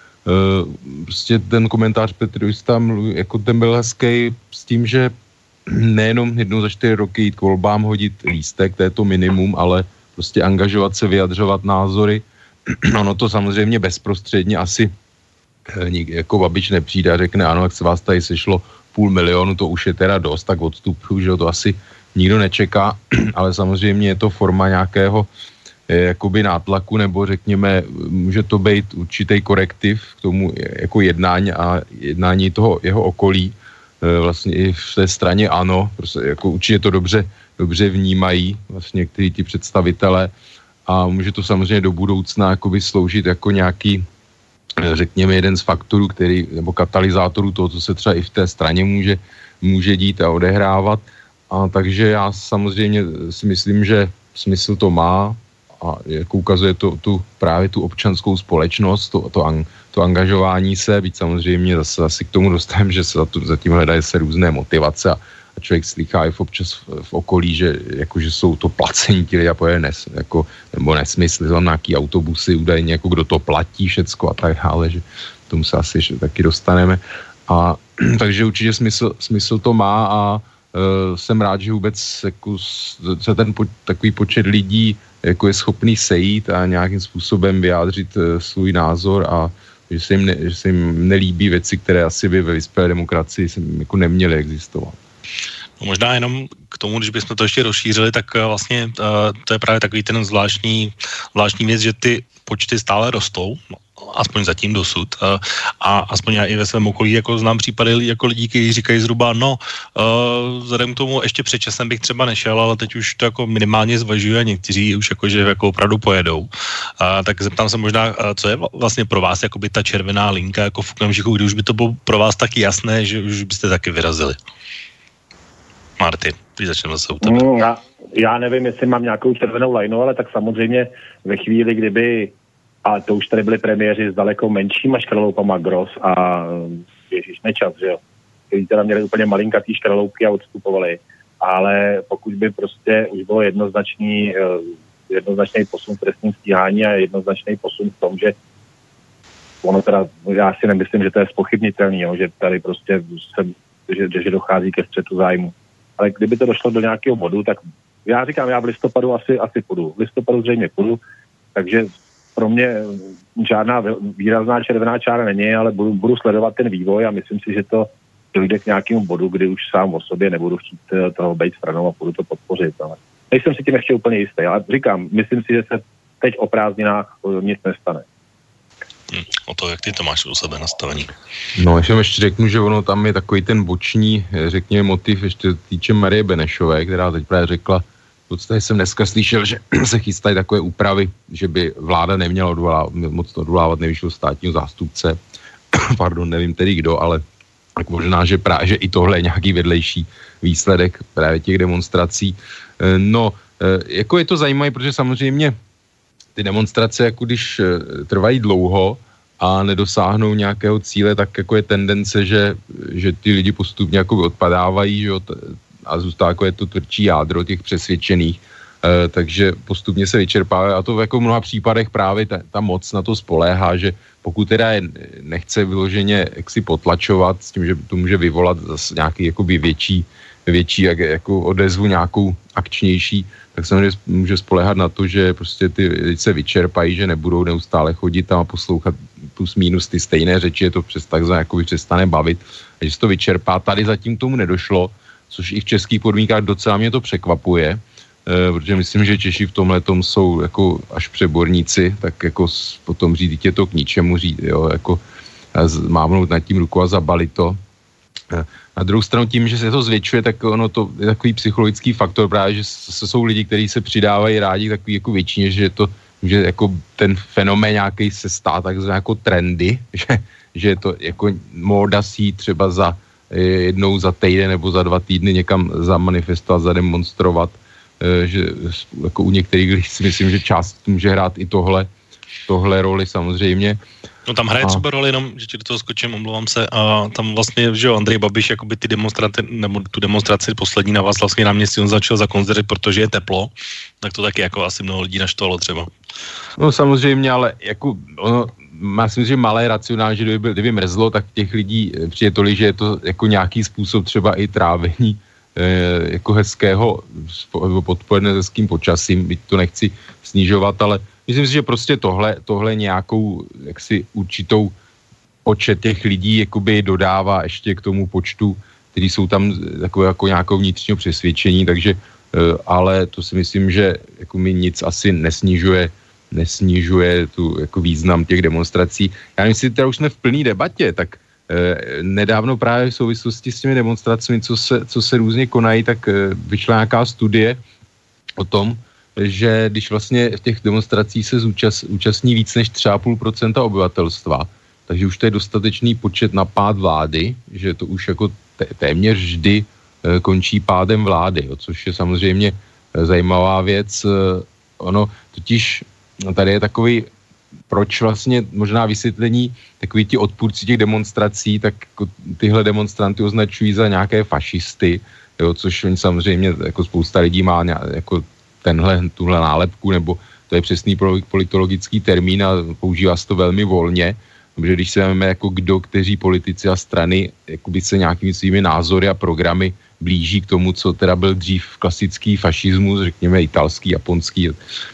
prostě ten komentář Petrus tam jako ten byl hezký s tím, že nejenom jednou za 4 roky jít k volbám, hodit lístek, to je to minimum, ale prostě angažovat se, vyjadřovat názory. Ono to samozřejmě bezprostředně asi jako Babiš nepřijde a řekne, ano, jak se vás tady sešlo 500 000, to už je teda dost, tak odstupuju, že to asi nikdo nečeká, ale samozřejmě je to forma nějakého jakoby nátlaku, nebo řekněme, může to být určitý korektiv k tomu jako jednání toho jeho okolí, vlastně i v té straně ANO, prostě jako určitě to dobře vnímají vlastně někteří ti představitelé a může to samozřejmě do budoucna jakoby sloužit jako nějaký, řekněme, jeden z faktorů, nebo katalyzátorů toho, co se třeba i v té straně může dít a odehrávat. A takže já samozřejmě si myslím, že smysl to má a jako ukazuje to právě tu občanskou společnost, to angažování se, byť samozřejmě zase k tomu dostaneme, že se zatím hledají se různé motivace a člověk slychá i občas v okolí, že jsou to placení ti lidé a pojede nebo nesmysly, tam nějaký autobusy, údajně jako kdo to platí všecko a tak dále, že k tomu se asi ještě taky dostaneme. A takže určitě smysl to má a jsem rád, že vůbec jako, se ten takový počet lidí jako je schopný sejít a nějakým způsobem vyjádřit svůj názor a že se jim nelíbí věci, které asi by ve vyspělé demokracii jako neměly existovat. No možná jenom k tomu, když bychom to ještě rozšířili, tak vlastně to je právě takový ten zvláštní věc, že ty počty stále rostou, aspoň zatím dosud. A aspoň já i ve svém okolí jako znám případy jako lidí, kteří říkají zhruba, vzhledem k tomu ještě před časem bych třeba nešel, ale teď už to jako minimálně zvažují a někteří už jakože jako opravdu pojedou. Tak zeptám se možná, co je vlastně pro vás jakoby ta červená linka jako v okamžiku, kdy už by to bylo pro vás taky jasné, že už byste taky vyrazili. Marty, když začneme zase u tebe. Já nevím, jestli mám nějakou červenou lajnu, ale tak samozřejmě ve chvíli, kdyby, a to už tady byli premiéři s daleko menšíma škraloupama Gross a Ježíš Nečas, že jo, kteří teda měli úplně malinkatý škraloupky a odstupovali, ale pokud by prostě už bylo jednoznačný posun v trestním stíhání a jednoznačný posun v tom, že ono teda, já si nemyslím, že to je zpochybnitelný, jo, že tady prostě že dochází ke střetu zájmu. Ale kdyby to došlo do nějakého bodu, tak já říkám, já v listopadu asi půjdu. V listopadu zřejmě půjdu, takže pro mě žádná výrazná červená čára není, ale budu sledovat ten vývoj a myslím si, že to dojde k nějakému bodu, kdy už sám o sobě nebudu chtít toho být stranou a budu to podpořit. Ale nejsem si tím ještě úplně jistý, ale říkám, myslím si, že se teď o prázdninách nic nestane. O to, jak ty to máš u sebe nastavení. No, ještě řeknu, že ono tam je takový ten boční, řekněme, motiv ještě týče Marie Benešové, která teď právě řekla, v podstatě jsem dneska slyšel, že se chystají takové úpravy, že by vláda neměla moc odvolávat nejvyššího státního zástupce. Pardon, nevím tedy kdo, ale tak možná, že i tohle je nějaký vedlejší výsledek právě těch demonstrací. No, jako je to zajímavé, protože samozřejmě ty demonstrace, jako když trvají dlouho a nedosáhnou nějakého cíle, tak jako je tendence, že ty lidi postupně jako odpadávají, že jo, a zůstává jako je to tvrdší jádro těch přesvědčených, takže postupně se vyčerpávají a to v jako mnoha případech právě ta moc na to spoléhá, že pokud teda nechce vyloženě jaksi potlačovat s tím, že to může vyvolat zase nějaký jakoby větší jako odezvu nějakou akčnější, tak samozřejmě může spoléhat na to, že prostě ty lidi se vyčerpají, že nebudou neustále chodit tam a poslouchat plus minus ty stejné řeči, je to takzvaně jako přestane bavit, a že se to vyčerpá. Tady zatím tomu nedošlo, což i v českých podmínkách docela mě to překvapuje, protože myslím, že Češi v tomhletom jsou jako až přeborníci, tak jako potom říct, je to k ničemu říct, jo, jako mávnout nad tím ruku a zabalit to. Na druhou stranu tím, že se to zvětšuje, tak ono to je takový psychologický faktor právě, že jsou lidi, kteří se přidávají rádi takový jako většině, že to že jako ten fenomén nějaký se stá takzvané jako trendy, že je to jako móda si třeba za jednou za týden nebo za 2 týdny někam zamanifestovat, zademonstrovat, že jako u některých lidí si myslím, že část může hrát i tohle roli samozřejmě. No tam hraje třeba roli, jenom, že ti do toho skočím, omlouvám se, a tam vlastně, že jo, Andrej Babiš jakoby ty demonstrace, nebo tu demonstraci poslední na vás vlastně náměstí on začal zakonzervit, protože je teplo, tak to taky jako asi mnoho lidí naštvalo třeba. No samozřejmě, ale jako ono, já si myslím, že malé racionál, že kdyby mrzlo, tak těch lidí přijde tolik, že je to jako nějaký způsob třeba i trávení jako hezkého, podpojené hezkým počasím, byť to nechci snižovat, ale myslím si, že prostě tohle nějakou jaksi určitou počet těch lidí jakoby dodává ještě k tomu počtu, kteří jsou tam takové jako nějakou vnitřního přesvědčení, takže ale to si myslím, že jako mi nic asi nesnižuje tu jako význam těch demonstrací. Já myslím, že teda už jsme v plný debatě, tak nedávno právě v souvislosti s těmi demonstracemi, co se různě konají, tak vyšla nějaká studie o tom, že když vlastně v těch demonstracích se účastní víc než 3,5% obyvatelstva, takže už to je dostatečný počet na pád vlády, že to už jako téměř vždy končí pádem vlády, jo, což je samozřejmě zajímavá věc. Ono totiž tady je takový, proč vlastně možná vysvětlení, takový ti odpůrci těch demonstrací, tak jako tyhle demonstranty označují za nějaké fašisty, jo, což oni samozřejmě jako spousta lidí má jako tuhle nálepku, nebo to je přesný politologický termín a používá se to velmi volně, protože když se vezmeme jako kteří politici a strany jakoby se nějakými svými názory a programy blíží k tomu, co teda byl dřív klasický fašismus, řekněme italský, japonský,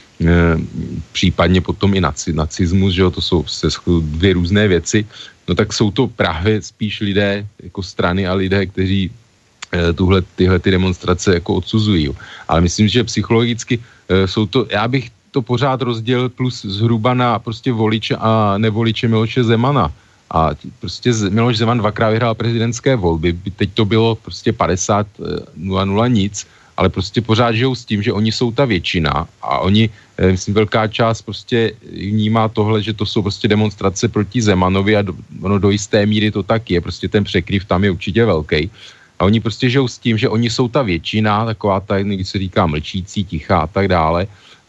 případně potom i nacismus, že jo, to jsou 2 různé věci, no tak jsou to právě spíš lidé jako strany a lidé, kteří tyhle demonstrace jako odsuzují. Jo. Ale myslím, že psychologicky jsou to, já bych to pořád rozdělil plus zhruba na prostě voliče a nevoliče Miloše Zemana. A prostě Miloš Zeman 2krát vyhrál prezidentské volby, teď to bylo prostě 50-0 nic, ale prostě pořád žijou s tím, že oni jsou ta většina a oni, myslím, velká část prostě vnímá tohle, že to jsou prostě demonstrace proti Zemanovi a ono do jisté míry to tak je, prostě ten překryv tam je určitě velký. A oni prostě žijou s tím, že oni jsou ta většina, taková ta, když se říká mlčící, tichá a tak dále.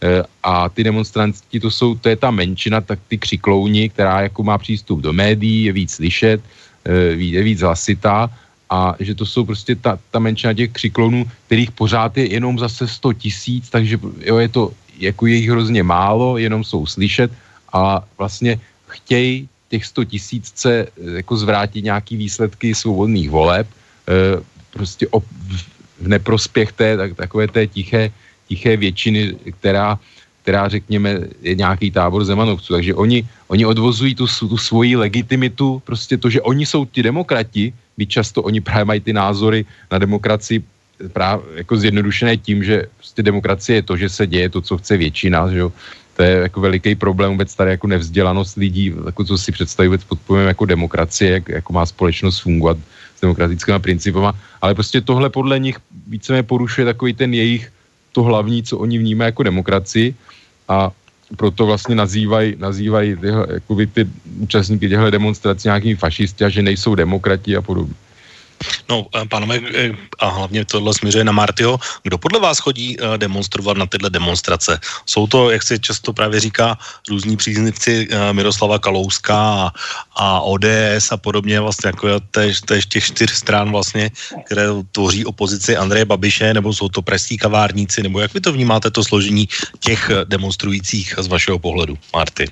A ty demonstranti, to je ta menšina, tak ty křiklouni, která jako má přístup do médií, je víc slyšet, je víc hlasitá a že to jsou prostě ta menšina těch křiklounů, kterých pořád je jenom zase 100 000, takže jo, je to jako je jich hrozně málo, jenom jsou slyšet a vlastně chtějí těch 100 000 jako zvrátit nějaký výsledky svobodných voleb, prostě v neprospěch takové té tiché většiny, která řekněme je nějaký tábor Zemanovců. Takže oni odvozují tu svoji legitimitu, prostě to, že oni jsou ti demokrati, byť často oni právě mají ty názory na demokracii právě jako zjednodušené tím, že prostě demokracie je to, že se děje to, co chce většina, že jo. To je jako veliký problém vůbec tady jako nevzdělanost lidí, jako co si představí vůbec pod pojmem jako demokracie, jako má společnost fungovat s demokratickými principama, ale prostě tohle podle nich víceméně porušuje takový ten jejich to hlavní, co oni vnímají jako demokracii a proto vlastně nazývají ty účastníky těchto demonstrací nějakými fašisti a že nejsou demokrati a podobně. No, pánové, a hlavně tohle směřuje na Martyho. Kdo podle vás chodí demonstrovat na tyhle demonstrace? Jsou to, jak se často právě říká, různí příznivci Miroslava Kalouska a ODS a podobně, vlastně jako též těch 4 stran vlastně, které tvoří opozici Andreje Babiše, nebo jsou to pražský kavárníci, nebo jak vy to vnímáte, to složení těch demonstrujících z vašeho pohledu, Marty?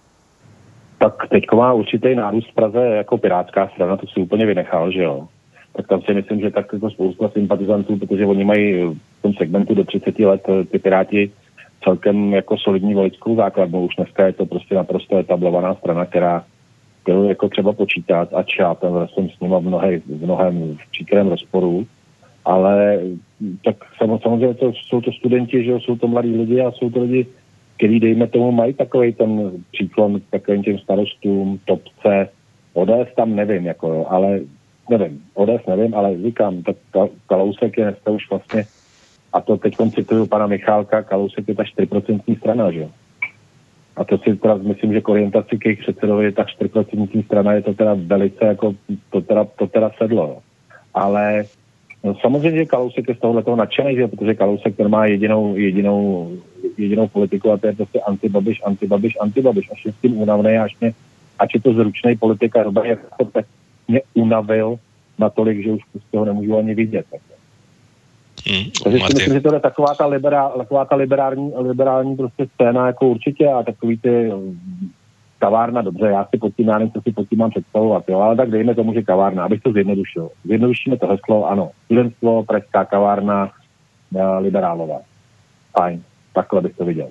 Tak teďko má určitý nárůst v Praze jako pirátská strana, to si úplně vynechal, že jo. tak tam si myslím, že tak jako spousta sympatizantů, protože oni mají v tom segmentu do 30 let ty Piráti celkem jako solidní voličskou základnu. Už dneska je to prostě naprosto etablovaná strana, kterou jako třeba počítat, ač já tam jsem s nima v mnohem v příkrém rozporu, ale tak samozřejmě jsou to studenti, že jsou to mladí lidi a jsou to lidi, kteří dejme tomu mají takovej ten příklon k takovým těm starostům, topce, ODS tam nevím, jako jo, ale nevím, ODS nevím, ale říkám, tak Kalousek je dneska už vlastně, a to teď cituju pana Michálka, Kalousek je ta 4% strana, že jo. A to si teda myslím, že k orientaci k jejich předsedovi je ta 4% strana, je to teda velice jako, to teda sedlo, jo. Ale no, samozřejmě, že Kalousek je z tohoto nadšený, že? Protože Kalousek ten má jedinou politiku a to je prostě antibabiš. Až je s tím únavnej, ač je to zručnej politika, tak mě unavil natolik, že už prostě ho nemůžu ani vidět. Takže si myslím, že to je taková ta liberální prostě scéna jako určitě a takový ty kavárna, dobře, já nevím, co si pod tím mám představovat, jo, ale tak dejme tomu, že kavárna, abych to zjednodušil. Zjednodušíme to heslo, ano, studentstvo, pražská kavárna, liberálové. Fajn, takhle bych to viděl.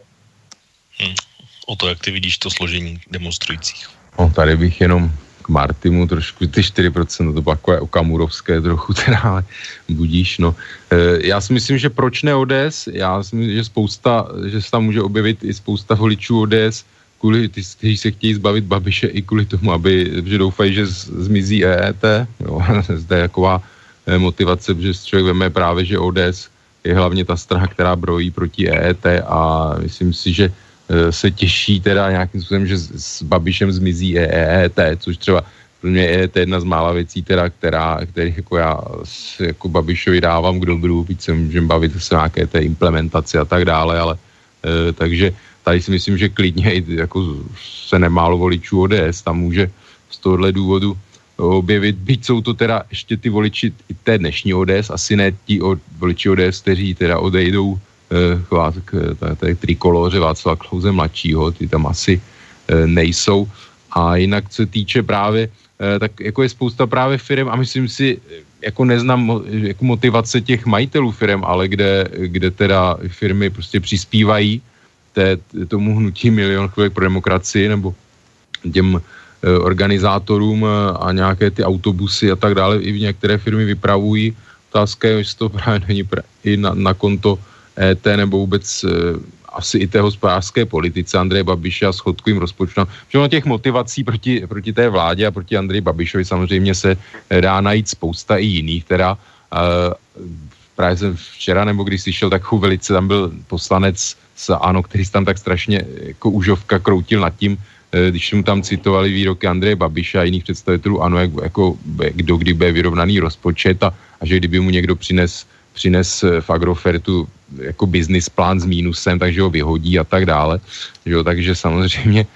O to, jak ty vidíš to složení demonstrujících. No, tady bych jenom k Martimu trošku, ty 4%, to bylo takové okamurovské trochu teda, ale budíš, no. Já si myslím, že proč ne ODS? Já si myslím, že se tam může objevit i spousta voličů ODS, kvůli ty, kteří se chtějí zbavit Babiše i kvůli tomu, že doufají, že zmizí EET. Jo, zde je taková motivace, že člověk veme právě, že ODS je hlavně ta strana, která brojí proti EET a myslím si, že se těší teda nějakým způsobem, že s Babišem zmizí EET, což třeba pro mě EET je jedna z mála věcí, teda, který jako já jako Babišovi dávám k dobru, víc se můžeme bavit se nějaké té implementaci a tak dále, ale takže tady si myslím, že klidně jako se nemálo voličů ODS, tam může z tohohle důvodu objevit, byť jsou to teda ještě ty voliči té dnešní ODS, asi ne ti voliči ODS, kteří teda odejdou k té trikoloře Václava Klause mladšího, ty tam asi nejsou. A jinak co týče právě, tak jako je spousta právě firem a myslím si, jako neznám jako motivace těch majitelů firem, ale kde teda firmy prostě přispívají tomu hnutí Milion chvilek pro demokracii nebo těm organizátorům a nějaké ty autobusy a tak dále i v některé firmy vypravují. Otázka je, jestli to právě není i na konto ET nebo vůbec asi i té hospodářské politice Andreje Babiše a schodkovým rozpočtem. Všechno těch motivací proti té vládě a proti Andreji Babišovi samozřejmě se dá najít spousta i jiných. Teda právě jsem včera, nebo když slyšel takovou velice, tam byl poslanec z ANO, který tam tak strašně jako užovka kroutil nad tím, když mu tam citovali výroky Andreje Babiše a jiných představitelů ANO, jako kdo kdy bude vyrovnaný rozpočet a že kdyby mu někdo přines v Agrofertu jako business plán s mínusem, takže ho vyhodí a tak dále. Jo, takže samozřejmě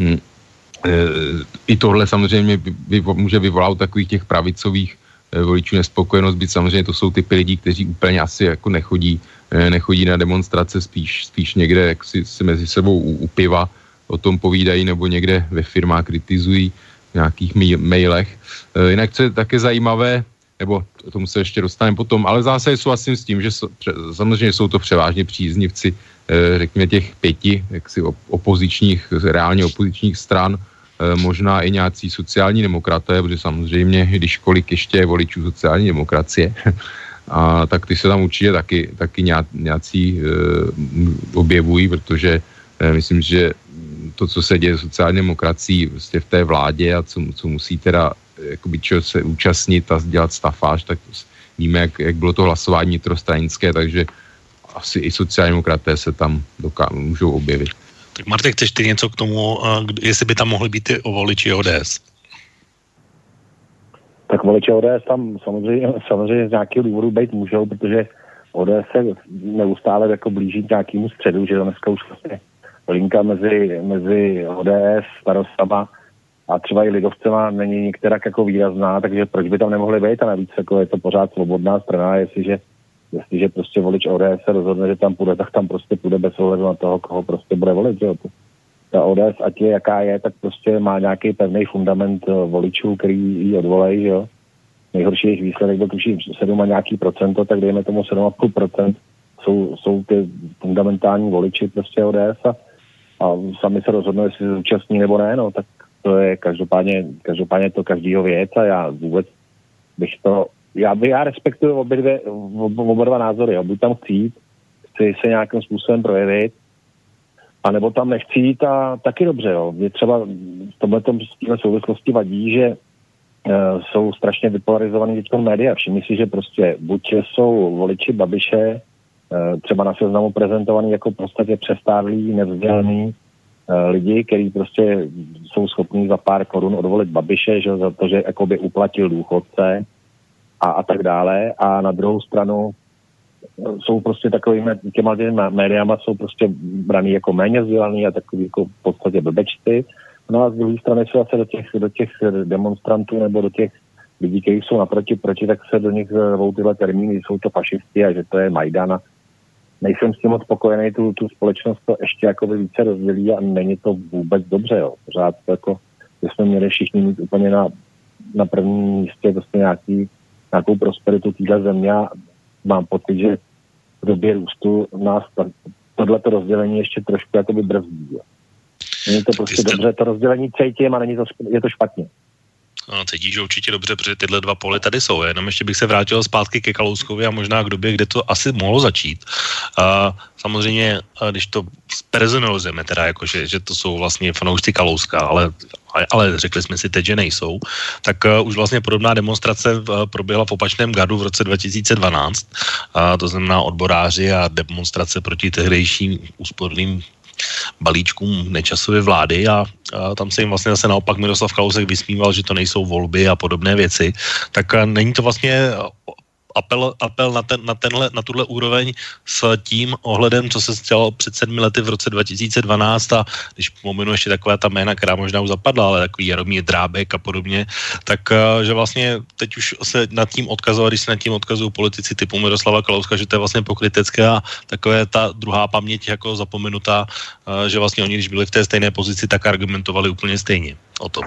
i tohle samozřejmě může vyvolat takových těch pravicových voličů nespokojenost, byť samozřejmě to jsou typy lidí, kteří úplně asi jako nechodí na demonstrace, spíš někde jak si mezi sebou u piva o tom povídají nebo někde ve firmách kritizují v nějakých mailech. Jinak, co je také zajímavé, nebo tomu se ještě dostaneme potom, ale zase souhlasím s tím, že samozřejmě jsou to převážně příznivci, řekněme těch 5 jaksi reálně opozičních stran, možná i nějací sociální demokraté, protože samozřejmě, když kolik ještě je voličů sociální demokracie, a tak ty se tam určitě taky nějací objevují, protože myslím, že to, co se děje sociální demokracií vlastně v té vládě a co musí teda jakoby čeho se účastnit a dělat stafáž, tak víme, jak bylo to hlasování vnitrostranické, takže asi i sociální demokraté se tam můžou objevit. Tak Martin, chceš ty něco k tomu, jestli by tam mohli být ty voliči ODS? Tak voliči ODS tam samozřejmě z nějakého důvodu být můžou, protože ODS se neustále jako blíží k nějakému středu, že dneska už vlastně linka mezi ODS, starostama a třeba i lidovcema není některak jako výrazná, takže proč by tam nemohli být a navíc jako je to pořád svobodná strana, jestliže prostě volič ODS se rozhodne, že tam půjde, tak tam prostě půjde bez ohledu na toho, koho prostě bude volit, že jo. Ta ODS, ať je jaká je, tak prostě má nějaký pevný fundament voličů, který ji odvolají, že jo. nejhorší jejich výsledek byl tuším 7 a nějaký procento, tak dejme tomu 7,5% jsou ty fundamentální voliči prostě ODS a sami se rozhodnou, jestli se zúčastní nebo ne, no, tak to je každopádně to každýho věc a já vůbec bych to, já respektuju oba dva názory, jo. Buď tam chci se nějakým způsobem projevit, anebo tam nechci jít a taky dobře, jo. Mě třeba v tomhletom souvislosti vadí, že jsou strašně vypolarizovaný teď média. Všimni si, že prostě buď jsou voliči Babiše třeba na seznamu prezentovaný jako v podstatě přestárlí, nevzdělaný lidi, kteří prostě jsou schopní za pár korun odvolit Babiše, že za to, že jakoby uplatil důchodce a tak dále. A na druhou stranu jsou prostě takovými těma médiama jsou prostě braný jako méně vzdělaný a takový jako v podstatě blbečci. No a z druhé strany se zase do těch demonstrantů nebo do těch lidí, kteří jsou naproti, tak se do nich zvou tyhle termíny, jsou to fašisti a že to je Majdan. Nejsem s tím moc spokojený, tu společnost to ještě jakoby více rozdělí a není to vůbec dobře, jo. Pořád to jako, že jsme měli všichni mít úplně na prvním místě prostě nějakou prosperitu téhle země a mám pocit, že v době růstu nás tohleto rozdělení ještě trošku jakoby brzdí, jo. Není to prostě dobře, to rozdělení cítím a je to špatně. No, cítíš určitě dobře, protože tyhle dva pole tady jsou. Jenom ještě bych se vrátil zpátky ke Kalouskovi a možná k době, kde to asi mohlo začít. Samozřejmě, když to personalizujeme, teda jakože, že to jsou vlastně fanoušci Kalouska, ale řekli jsme si teď, že nejsou, tak už vlastně podobná demonstrace proběhla v opačném gardu v roce 2012. To znamená odboráři a demonstrace proti tehdejším úsporným balíčkům Nečasovy vlády a tam se jim vlastně zase naopak Miroslav Kalousek vysmíval, že to nejsou volby a podobné věci, tak není to vlastně apel na tuhle úroveň s tím ohledem, co se stalo před 7 lety v roce 2012 a když pominu ještě taková ta jména, která možná už zapadla, ale takový Jaromír Drábek a podobně, tak že vlastně teď už se nad tím odkazují, když se nad tím odkazují politici typu Miroslava Kalouska, že to je vlastně pokrytecké a takové ta druhá paměť jako zapomenutá, že vlastně oni, když byli v té stejné pozici, tak argumentovali úplně stejně o tom.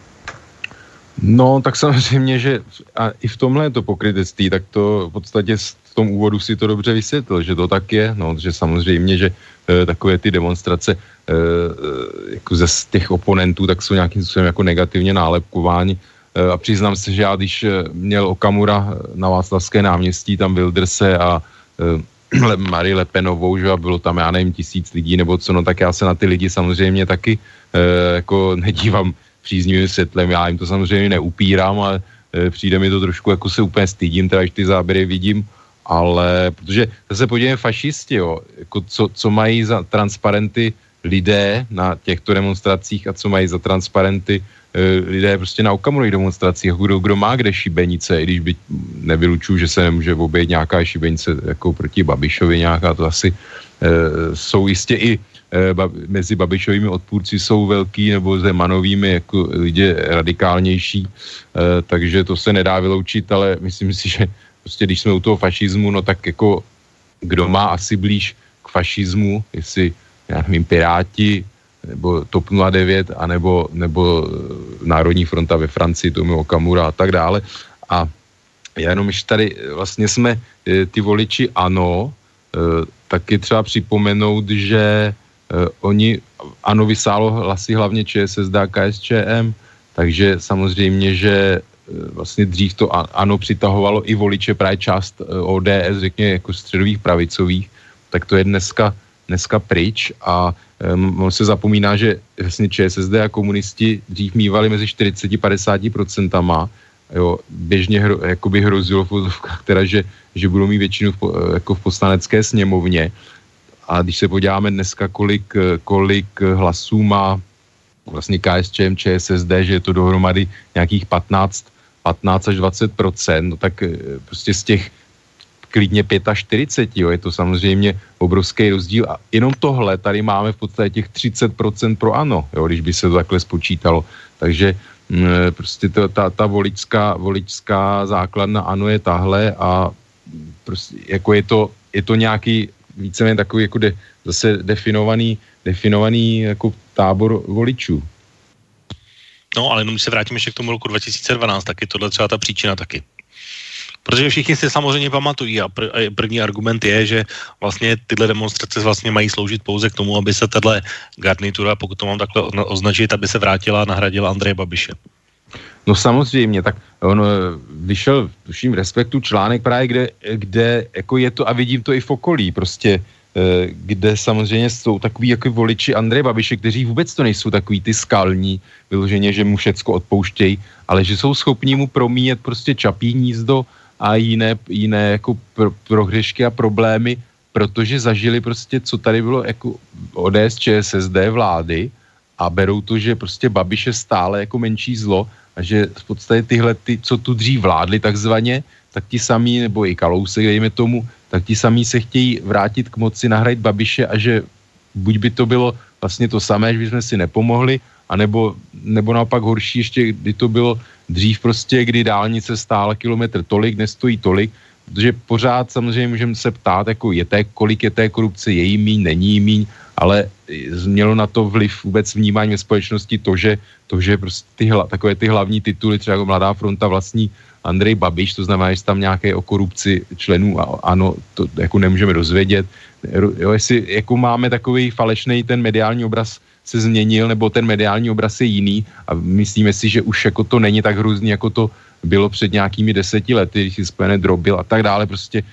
No, tak samozřejmě, že a i v tomhle je to pokrytectví, tak to v podstatě v tom úvodu si to dobře vysvětlil, že to tak je, no, že samozřejmě, že takové ty demonstrace jako ze těch oponentů, tak jsou nějakým způsobem jako negativně nálepkováni a přiznám se, že já když měl Okamura na Václavské náměstí, tam Wildrse a Marie Le Penovou, že a bylo tam, já nevím, 1000 lidí nebo co, no tak já se na ty lidi samozřejmě taky jako nedívám příznivým světlem, já jim to samozřejmě neupírám, ale přijde mi to trošku, jako se úplně stydím, teda když ty záběry vidím, ale protože zase podívejme fašisti, jo, jako co mají za transparenty lidé na těchto demonstracích a co mají za transparenty lidé prostě na Okamurových demonstracích, kdo má kde šibenice, i když by nevylučuju, že se nemůže obejít nějaká šibenice jako proti Babišovi nějaká, to asi jsou jistě i mezi Babišovými odpůrci jsou velký nebo Zemanovými jako lidi radikálnější, takže to se nedá vyloučit, ale myslím si, že prostě když jsme u toho fašismu, no tak jako kdo má asi blíž k fašismu, jestli, já nevím, Piráti, nebo TOP 09, anebo Národní fronta ve Francii, Tomio Okamura a tak dále. A jenom ještě tady vlastně jsme ty voliči ANO, taky třeba připomenout, že ANO vysálo hlasy hlavně ČSSD a KSČM, takže samozřejmě, že vlastně dřív to ANO přitahovalo i voliče právě část ODS, řekněme jako středových pravicových, tak to je dneska pryč a on se zapomíná, že vlastně ČSSD a komunisti dřív mívali mezi 40-50%, jo, běžně jakoby hrozilo v fotovkách teda, že budou mít většinu jako v poslanecké sněmovně. A když se podíváme dneska, kolik hlasů má vlastně KSČM, ČSSD, že je to dohromady nějakých 15 až 20%, no tak prostě z těch klidně 45, jo, je to samozřejmě obrovský rozdíl. A jenom tohle tady máme v podstatě těch 30% pro ANO, jo, když by se to takhle spočítalo. Takže prostě ta voličská základna ANO je tahle a prostě jako je to nějaký víceméně takový jako zase definovaný jako tábor voličů. No, ale jenom když se vrátíme ještě k tomu roku 2012, tak je tohle třeba ta příčina taky. Protože všichni si samozřejmě pamatují a první argument je, že vlastně tyhle demonstrace vlastně mají sloužit pouze k tomu, aby se tahle garnitura, pokud to mám takhle označit, aby se vrátila a nahradila Andreje Babiše. No samozřejmě, tak on vyšel, tuším, Respektu článek právě, kde jako je to, a vidím to i v okolí, prostě, kde samozřejmě jsou takový jako voliči Andreje Babiše, kteří vůbec to nejsou takový ty skalní, vyloženě, že mu všecko odpouštějí, ale že jsou schopní mu promíjet prostě Čapí hnízdo a jiné jako prohřešky a problémy, protože zažili prostě, co tady bylo jako ODS, ČSSD vlády a berou to, že prostě Babiš je stále jako menší zlo a že v podstatě tyhle, co tu dřív vládli takzvaně, tak ti samí, nebo i Kalousek, dejme tomu, tak ti samí se chtějí vrátit k moci, nahradit Babiše a že buď by to bylo vlastně to samé, že bychom si nepomohli, anebo naopak horší ještě, kdy to bylo dřív prostě, kdy dálnice stála kilometr tolik, nestojí tolik, protože pořád samozřejmě můžeme se ptát, jako kolik je té korupce, je jí míň, není jí míň, ale mělo na to vliv vůbec vnímání ve společnosti to, že prostě takové ty hlavní tituly, třeba jako Mladá fronta vlastní Andrej Babiš, to znamená, že tam nějaké o korupci členů, ano, to jako nemůžeme dozvědět. Jo, jestli jako máme takový falešný ten mediální obraz se změnil, nebo ten mediální obraz je jiný a myslíme si, že už jako to není tak hrůzný, jako to bylo před nějakými 10 lety, když si Spojené drobil a tak dále, prostě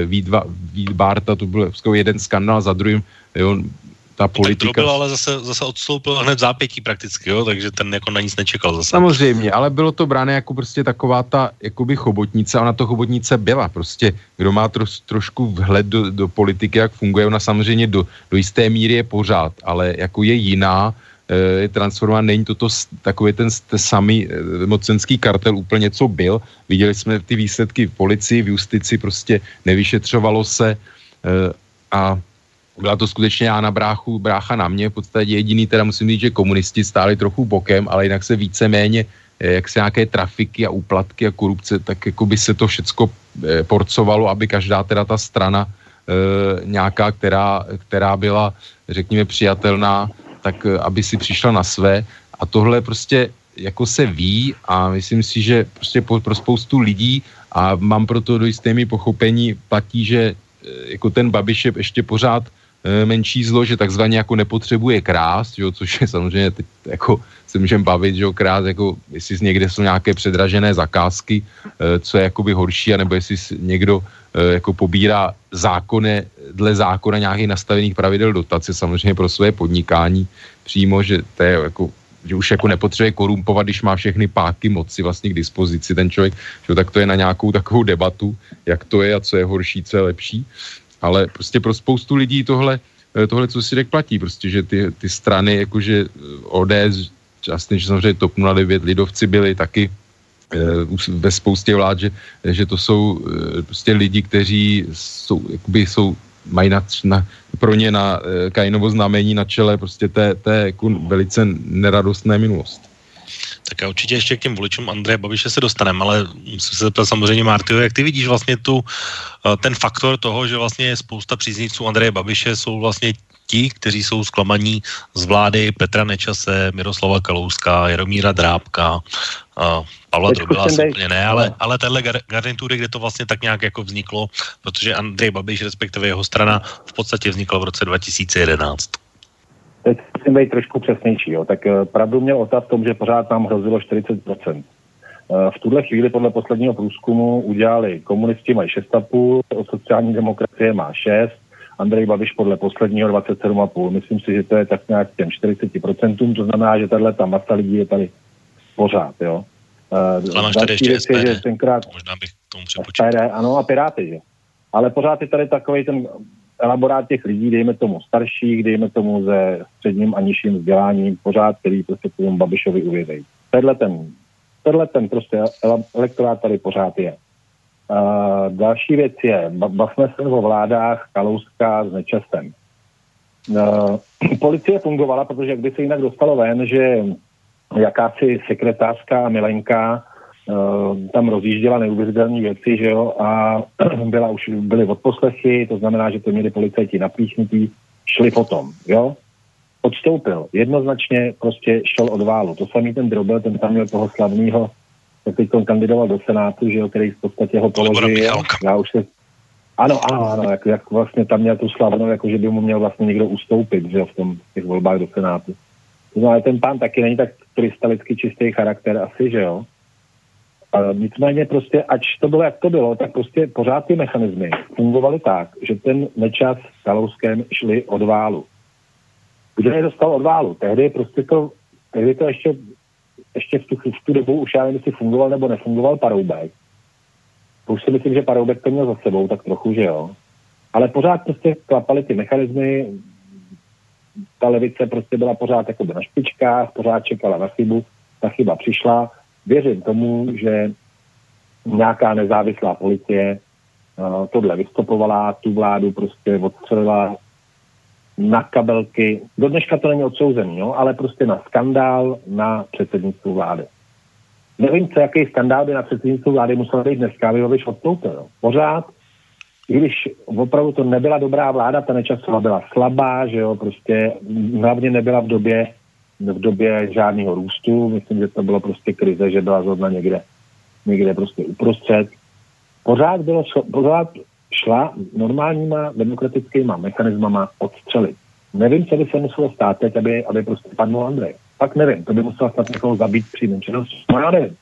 Vít Bárta, to byl jeden skandál za druhým, jo, ta politika... Tak drobil, ale zase odstoupil hned v zápětí prakticky, jo, takže ten jako na nic nečekal zase. Samozřejmě, ale bylo to bráno jako prostě taková ta jakoby chobotnice, ona to chobotnice byla, prostě kdo má trošku vhled do politiky, jak funguje, ona samozřejmě do jisté míry je pořád, ale jako je jiná, je transformovaná, není toto takový ten samý mocenský kartel úplně, co byl. Viděli jsme ty výsledky v policii, v justici, prostě nevyšetřovalo se a byla to skutečně Jána brácha na mě, v podstatě jediný, teda musím říct, že komunisti stáli trochu bokem, ale jinak se víceméně, jak se nějaké trafiky a úplatky a korupce, tak jako by se to všecko porcovalo, aby každá teda ta strana nějaká, která byla, řekněme, přijatelná, tak aby si přišla na své. A tohle prostě jako se ví a myslím si, že prostě pro spoustu lidí a mám proto do jisté mi pochopení platí, že jako ten Babiš je ještě pořád menší zlo, že takzvaně jako nepotřebuje krást, jo, což je samozřejmě teď jako se můžeme bavit, že jo, krást, jako jestli někde jsou nějaké předražené zakázky, co je jakoby horší, anebo jestli někdo jako pobírá dle zákona nějakých nastavených pravidel dotace, samozřejmě pro své podnikání přímo, že to je jako, že už jako nepotřebuje korumpovat, když má všechny páky moci vlastně k dispozici ten člověk, že tak to je na nějakou takovou debatu, jak to je a co je horší, co je lepší. Ale prostě pro spoustu lidí tohle co si řekl, platí, prostě, že ty strany, jakože ODS, částečně samozřejmě TOP 09, lidovci byli taky ve spoustě vlád, že to jsou prostě lidi, kteří mají pro ně na Kainovo znamení na čele prostě té jako velice neradostné minulosti. Tak a určitě ještě k těm voličům Andreje Babiše se dostaneme, ale musím se zeptat samozřejmě, Martyho, jak ty vidíš vlastně ten faktor toho, že vlastně spousta příznivců Andreje Babiše jsou vlastně ti, kteří jsou zklamaní z vlády Petra Nečase, Miroslava Kalouska, Jaromíra Drábka, Pavla Drobila úplně ne, ale téhle garnitury, kde to vlastně tak nějak jako vzniklo, protože Andrej Babiš, respektive jeho strana, v podstatě vznikla v roce 2011. Teď musím být trošku přesnější. Jo. Tak pravdu měl Ota v tom, že pořád nám hrozilo 40%. V tuhle chvíli podle posledního průzkumu udělali komunisti mají 6,5, sociální demokracie má 6, Andrej Babiš podle posledního 27,5. Myslím si, že to je tak nějak těm 40%, to znamená, že tato masa lidí je tady pořád. Jo. Ale máš tady ještě SPD, možná bych tomu přepočítal. SPD, ano, a Piráty, že? Ale pořád je tady takovej ten elaborát těch lidí, dejme tomu starších, dejme tomu se středním a nižším vzděláním, pořád, který prostě tomu Babišovi uvěří. Tenhle ten prostě elektorát tady pořád je. Další věc je, bavme se o vládách Kalouska s Nečasem. Policie fungovala, protože jak by se jinak dostalo ven, že jakási sekretářka Milenka tam rozjížděla neuvěřitelné věci, že jo, a byly odposlechy, to znamená, že to měli policajti napíchnutí, šli potom, jo. odstoupil. Jednoznačně prostě šel od válu. To samý ten Drobil, ten tam měl toho slavného, tak teď kandidoval do Senátu, že jo, který v podstatě ho položil. Já už se... Ano, jak vlastně tam měl tu slavnou, jako že by mu měl vlastně někdo ustoupit, že jo, v těch volbách do Senátu. To znamená, ten pán taky není tak krystalicky čistý charakter asi, že jo. Nicméně prostě, ač to bylo, jak to bylo, tak prostě pořád ty mechanismy fungovaly tak, že ten Nečas s Kalouskem šli od válu. Kdo je dostal od válu? Tehdy to ještě v tu dobu už já nevím, jestli fungoval nebo nefungoval Paroubek. Už si myslím, že Paroubek to měl za sebou, tak trochu, že jo. Ale pořád prostě klapaly ty mechanismy, ta levice prostě byla pořád jakoby na špičkách, pořád čekala na chybu, ta chyba přišla. Věřím tomu, že nějaká nezávislá policie tohle vystopovala, tu vládu prostě odstřelila na kabelky. Do dneška to není odsouzený, jo, ale prostě na skandál na předsednictvu vlády. Nevím, jaký skandál by na předsednictvu vlády musel být dneska, aby ho vyš odstoupil. Jo. Pořád, i když opravdu to nebyla dobrá vláda, ta Nečasová byla slabá, že jo, prostě hlavně nebyla v době žádného růstu. Myslím, že to bylo prostě krize, že byla zrovna někde prostě uprostřed. Pořád šla normálníma demokratickýma mechanismama odstřelit. Nevím, co by se muselo stát teď, aby prostě padnul Andrej. Pak nevím, to by musela snad někoho zabít přímým činnost. No já nevím.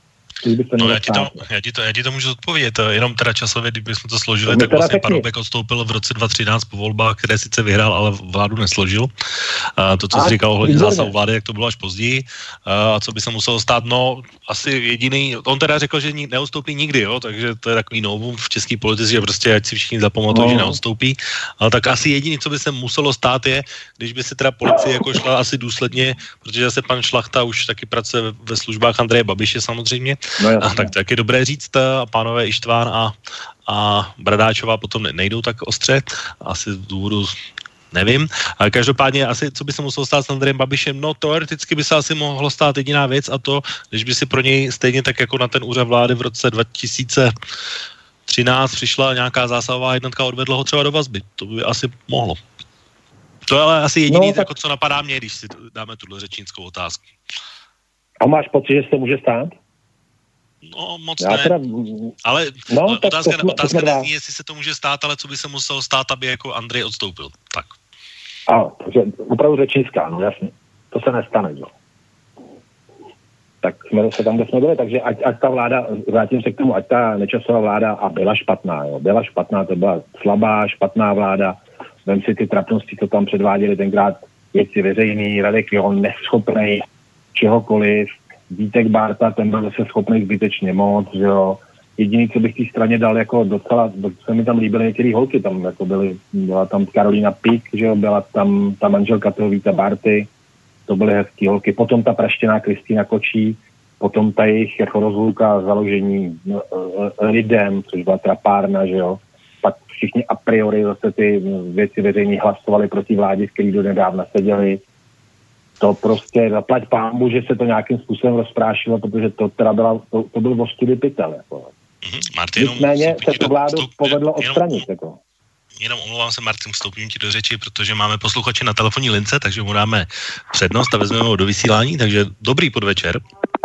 Já ti to můžu odpovědět, jenom teda časově, kdybychom to složili, tak vlastně Paroubek odstoupil v roce 2013 po volbách, které sice vyhrál, ale vládu nesložil. To, co jsi říkal ohledně zásahu vlády, jak to bylo až později. A co by se muselo stát, no asi jediný, on teda řekl, že neodstoupí nikdy, jo, takže to je takový novum v české politice, že prostě ať si všichni zapamatují, že neodstoupí. Ale tak asi jediný, co by se muselo stát, je, když by se teda policie jako šla asi důsledně, protože zase pan Šlachta už taky pracuje ve službách Andreje Babiše samozřejmě. No, tak je dobré říct, pánové Ištván a Bradáčová potom nejdou tak ostře, asi z důvodu nevím. Ale každopádně asi, co by se muselo stát s Andrejem Babišem, no teoreticky by se asi mohlo stát jediná věc a to, když by si pro něj stejně tak jako na ten úřad vlády v roce 2013 přišla nějaká zásahová jednotka, odvedla ho třeba do vazby. To by asi mohlo. To je ale asi jediný, jako co napadá mě, když si dáme tuhle řečnickou otázku. A máš pocit, že se to může stát? No, moc ne. Ale otázka nezní, jestli se to může stát, ale co by se muselo stát, aby jako Andrej odstoupil. Tak. Takže opravdu řečnická, no jasně. To se nestane, jo. Tak jsme se tam, kde jsme byli, takže ať ta vláda, vrátím se k tomu, ať ta Nečasová vláda a byla špatná, jo. Byla špatná, to byla slabá, špatná vláda. Vem si ty trapnosti, co tam předváděli tenkrát věci veřejný, Radek John neschopnej čehokoliv, Vítek Bárta, ten byl zase schopný zbytečně moc, že jo. Jediný, co bych té straně dal, jako docela, se mi tam líbily některé holky, tam jako byla tam Karolína Pík, že jo, byla tam ta manželka toho Víta Bárty, to byly hezký holky, potom ta praštěná Kristýna Kočí, potom ta jejich jako rozluka, založení lidem, což byla trapárna, že jo. Pak všichni a priori zase ty věci veřejně hlasovali proti vládě, v který do nedávna seděli. To prostě zaplať pámbu, že se to nějakým způsobem rozprášilo, protože to teda to byl ostudy pytel. Jako. Nicméně se to vládu povedlo odstranit. Jako. Jenom omlouvám se, Martin, vstoupím ti do řeči, protože máme posluchače na telefonní lince, takže mu dáme přednost a vezmeme ho do vysílání, takže dobrý podvečer.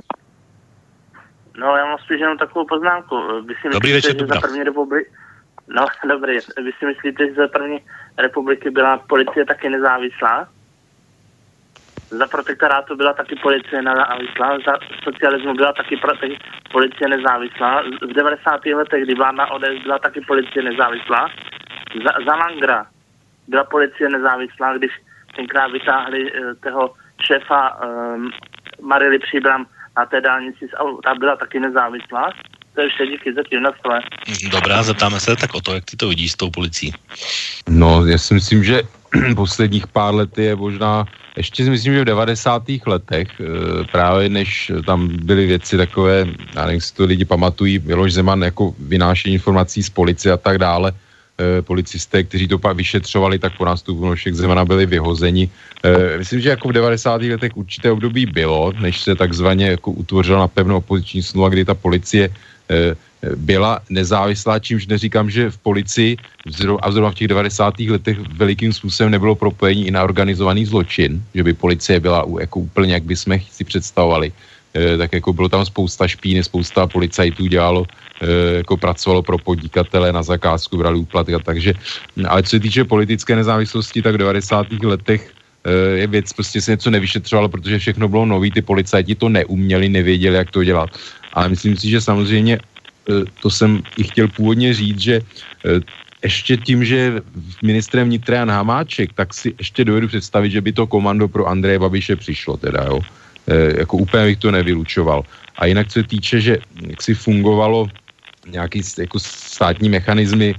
No, já mám spíš jenom takovou poznámku. Vy si dobrý myslíte, večer, že za první republiky... No, dobrý. Vy si myslíte, že za první republiky byla policie taky nezávislá? Za protektorátu byla taky policie nezávislá, za socialismu byla taky policie nezávislá, v 90. letech, kdy vládla ODS, byla taky policie nezávislá, za Langra byla policie nezávislá, když tenkrát vytáhli toho šéfa Marily Příbram na té dálnici, ta byla taky nezávislá. To je vše, díky zatím na stole. Dobrá, zeptáme se tak o to, jak ty to vidíš s tou policií. No, já si myslím, že posledních pár let je možná, ještě si myslím, že v 90. letech, právě než tam byly věci takové, já nevím, si to lidi pamatují, Miloš Zeman jako vynášení informací z policie a tak dále, policisté, kteří to pak vyšetřovali, tak po nástupu Miloše Zemana byli vyhozeni. Myslím, že jako v 90. letech určité období bylo, než se takzvaně jako utvořila na pevnou opoziční smlouva, kdy ta policie byla nezávislá, čímž neříkám, že v policii a zrovna v těch 90. letech velikým způsobem nebylo propojení i na organizovaný zločin, že by policie byla jako úplně, jak bychom si představovali. Tak jako bylo tam spousta špíny, spousta policajtů dělalo, jako pracovalo pro podnikatele na zakázku, brali úplatky, takže, ale co se týče politické nezávislosti, tak v 90. letech je věc, prostě se něco nevyšetřovalo, protože všechno bylo nový, ty policajti to neuměli, nevěděli, jak to dělat. Ale myslím si, že samozřejmě to jsem i chtěl původně říct, že ještě tím, že ministrem vnitra Jan Hamáček, tak si ještě dovedu představit, že by to komando pro Andreje Babiše přišlo teda, jo. Jako úplně bych to nevylučoval. A jinak co se týče, že jak si fungovalo nějaký jako státní mechanismy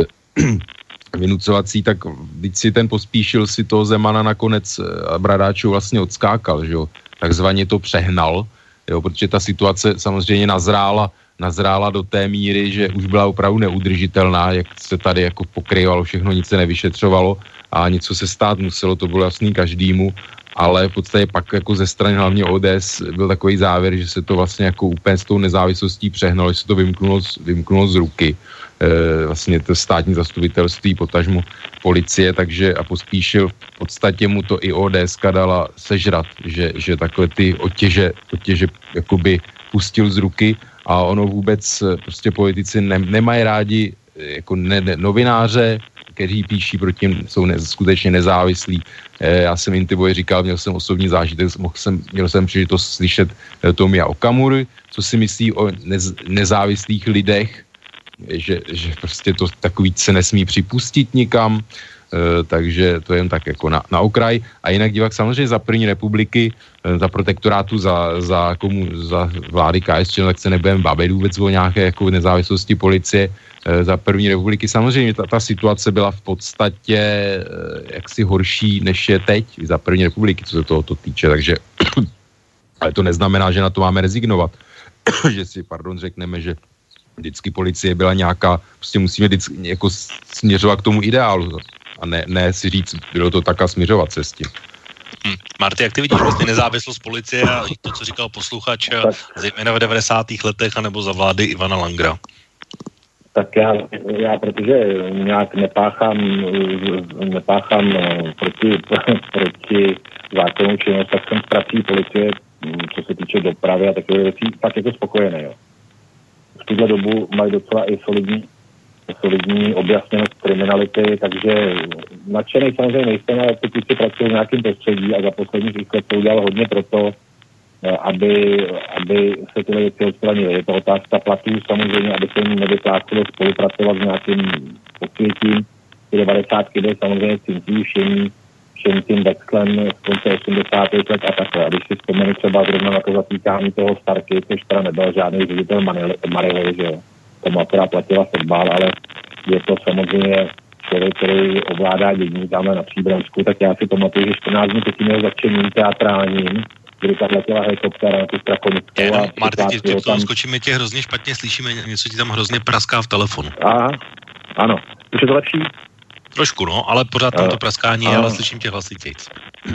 vynucovací, tak když si ten Pospíšil si toho Zemana nakonec Bradáčů vlastně odskákal, že jo. Takzvaně to přehnal, jo, protože ta situace samozřejmě nazrála do té míry, že už byla opravdu neudržitelná, jak se tady jako pokrývalo všechno, nic se nevyšetřovalo a něco se stát muselo, to bylo jasný každému, ale v podstatě pak jako ze strany hlavně ODS byl takový závěr, že se to vlastně jako úplně s tou nezávislostí přehnalo, že se to vymknulo z ruky, vlastně to státní zastupitelství, potažmu policie, takže a Pospíšil v podstatě mu to i ODSka dala sežrat, že takhle ty otěže jakoby pustil z ruky a ono vůbec prostě politici nemají rádi jako novináře, kteří píší proti nim, jsou skutečně nezávislí. Já jsem Intibovi říkal, měl jsem osobní zážitek, měl jsem příležitost slyšet Tomia Okamury, co si myslí o nezávislých lidech, že prostě to takový se nesmí připustit nikam, takže to je jen tak jako na okraj. A jinak divák samozřejmě za první republiky, za protektorátu, za vlády KSČ, tak se nebudeme bavit vůbec o nějaké jako nezávislosti policie. Za první republiky samozřejmě ta situace byla v podstatě jaksi horší, než je teď za první republiky, co se tohoto týče, takže ale to neznamená, že na to máme rezignovat. Že si, řekneme, že vždycky policie byla nějaká, prostě musíme vždycky jako směřovat k tomu ideálu a ne si říct, bylo to tak a směřovat se s tím. Marty, jak ty vidíš vlastně nezávislost policie a to, co říkal posluchač, zejména v 90. letech, anebo za vlády Ivana Langera? Tak já protože nějak nepáchám proti zákonu činnost, tak jsem s prací policie, co se týče dopravy a takové věcí, tak jako spokojený, jo. V tuhle dobu mají docela i solidní objasněnost kriminality, takže nadšený samozřejmě nejsem, ale pokud si pracuji v nějakém prostředí a za posledních let to udělal hodně pro to, aby se tyhle věci odstranily. Je to otázka platů samozřejmě, aby se jim nevyplácelo spolupracovat s nějakým posvětím. Ty 90. byly samozřejmě cintí všem tím vexlem z konce 80. let a takhle. A když si vzpomenu třeba zrovna na to zatýkání toho Starky, což teda nebyl žádný ředitel Marily, že jo. Tomu akorát platila fotbal, ale je to samozřejmě člověk, který ovládá dění tamhle na Příbramsku, tak já si pamatuju, že 14 dní předtím měl začením teatrálním, kdy tam letěla helikoptéra na tu Strakonickou. Marty, skočíme tě hrozně špatně, slyšíme, něco ti tam hrozně praská v telefonu. Aha, ano. Už je to lepší? Trošku, no, ale pořád tam to praskání, ale slyším tě hlasitějc.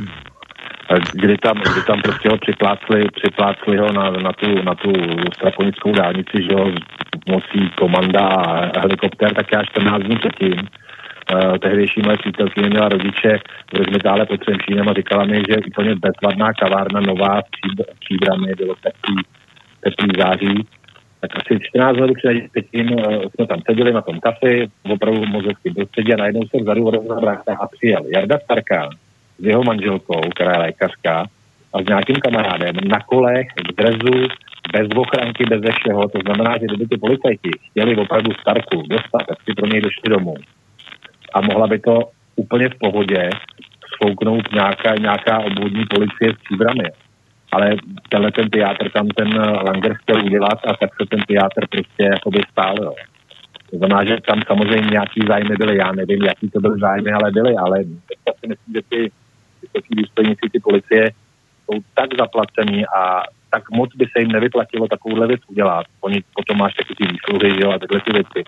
Kdy tam prostě ho připlácli ho na tu Strakonickou dálnici, že jo, nosí komanda a helikoptér, tak já 14 dní předtím. Tehdejší moje přítelkyně měla rodiče v Rozmitále pod Třemšínem a říkala mi, že úplně bezvadná kavárna nová v Příbrami, bylo teplý září. Tak asi 14 let předtím jsme tam seděli na tom kafi, opravdu v mozelském prostředí a najednou se vzadu rozhrává a přijel Jarda Starka s jeho manželkou, která je lékařka, a s nějakým kamarádem na kolech, v drezu, bez ochranky, bez všeho. To znamená, že kdyby ty policajti chtěli opravdu Starku dostat, tak si pro něj došli domů. A mohla by to úplně v pohodě sfouknout nějaká obvodní policie s Příbrami. Ale tenhle ten teátr tam ten Langer chtěl udělat a tak se ten teátr prostě jakoby stál, jo. To znamená, že tam samozřejmě nějaký zájmy byly, já nevím, jaký to byly zájmy, ale byly, ale já si myslím, že ty vysoký důstojníci, ty policie jsou tak zaplacení a tak moc by se jim nevyplatilo takovouhle věc udělat. Oni potom máš taky ty výsluhy, že jo, a takhle ty věci.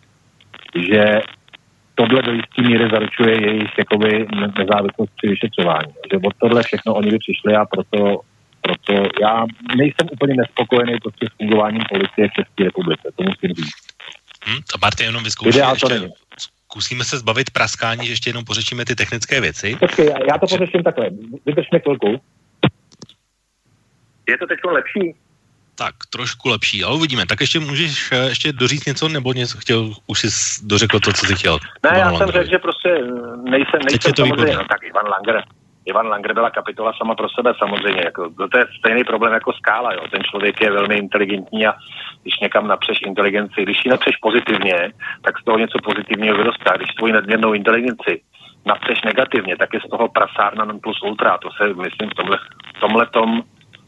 Že tohle do jistý míry zaručuje jejich jakoby nezávislost při vyšetřování. Že od tohle všechno oni by přišli a proto proto já nejsem úplně nespokojený prostě s fungováním policie v České republice, to musím říct. A Martin, jenom vyzkoušíme ještě, zkusíme se zbavit praskání, že ještě jenom pořešíme ty technické věci. Počkej, já to pořeším takhle, vydržme chvilku. Je to teď lepší? Tak, trošku lepší, ale uvidíme. Tak ještě můžeš ještě doříct něco, nebo něco chtěl, už jsi dořekl to, co jsi chtěl? Ne, já jsem řekl, že prostě nejsem samozřejmě, no tak Ivan Langer byla kapitola sama pro sebe samozřejmě, jako, to je stejný problém jako Skála, jo. Ten člověk je velmi inteligentní a když někam napřeš inteligenci, když ji napřeš pozitivně, tak z toho něco pozitivního vyrostá. Když tvoji nadměrnou inteligenci napřeš negativně, tak je z toho prasárna non plus ultra. To se, myslím, v tomhletom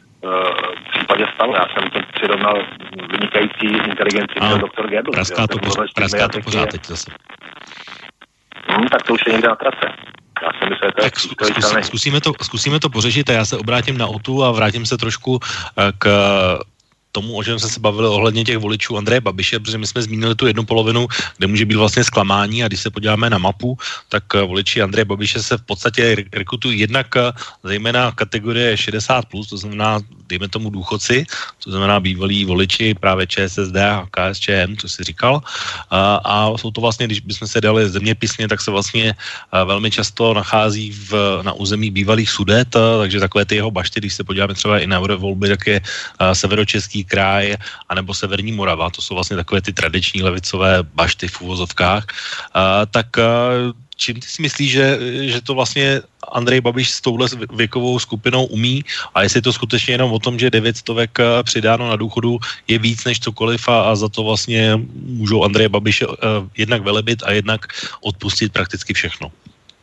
v případě stalo. Já jsem to přirovnal vynikající inteligenci měl doktor Goebbels. Praská to pořád teď zase. Tak to už je někde na trase. Já si myslím, že to je zkusíme to pořešit a já se obrátím na Otu a vrátím se trošku k tomu, o čem jsme se bavili ohledně těch voličů Andreje Babiše, protože my jsme zmínili tu jednu polovinu, kde může být vlastně zklamání, a když se podíváme na mapu, tak voliči Andreje Babiše se v podstatě rekrutují jednak zejména kategorie 60+, to znamená, dejme tomu důchodci, to znamená bývalí voliči právě ČSSD a KSČM, co jsi říkal, a jsou to vlastně, když bychom se dali zeměpisně, tak se vlastně velmi často nachází na území bývalých Sudet, takže takové ty jeho bašty, když se podíváme třeba i na eurovolby, tak je Severočeský kraj anebo Severní Morava, to jsou vlastně takové ty tradiční levicové bašty v uvozovkách, tak čím ty si myslíš, že to vlastně Andrej Babiš s touhle věkovou skupinou umí, a jestli to skutečně jenom o tom, že 900 přidáno na důchodu je víc než cokoliv a za to vlastně můžou Andreje Babiše jednak velebit a jednak odpustit prakticky všechno?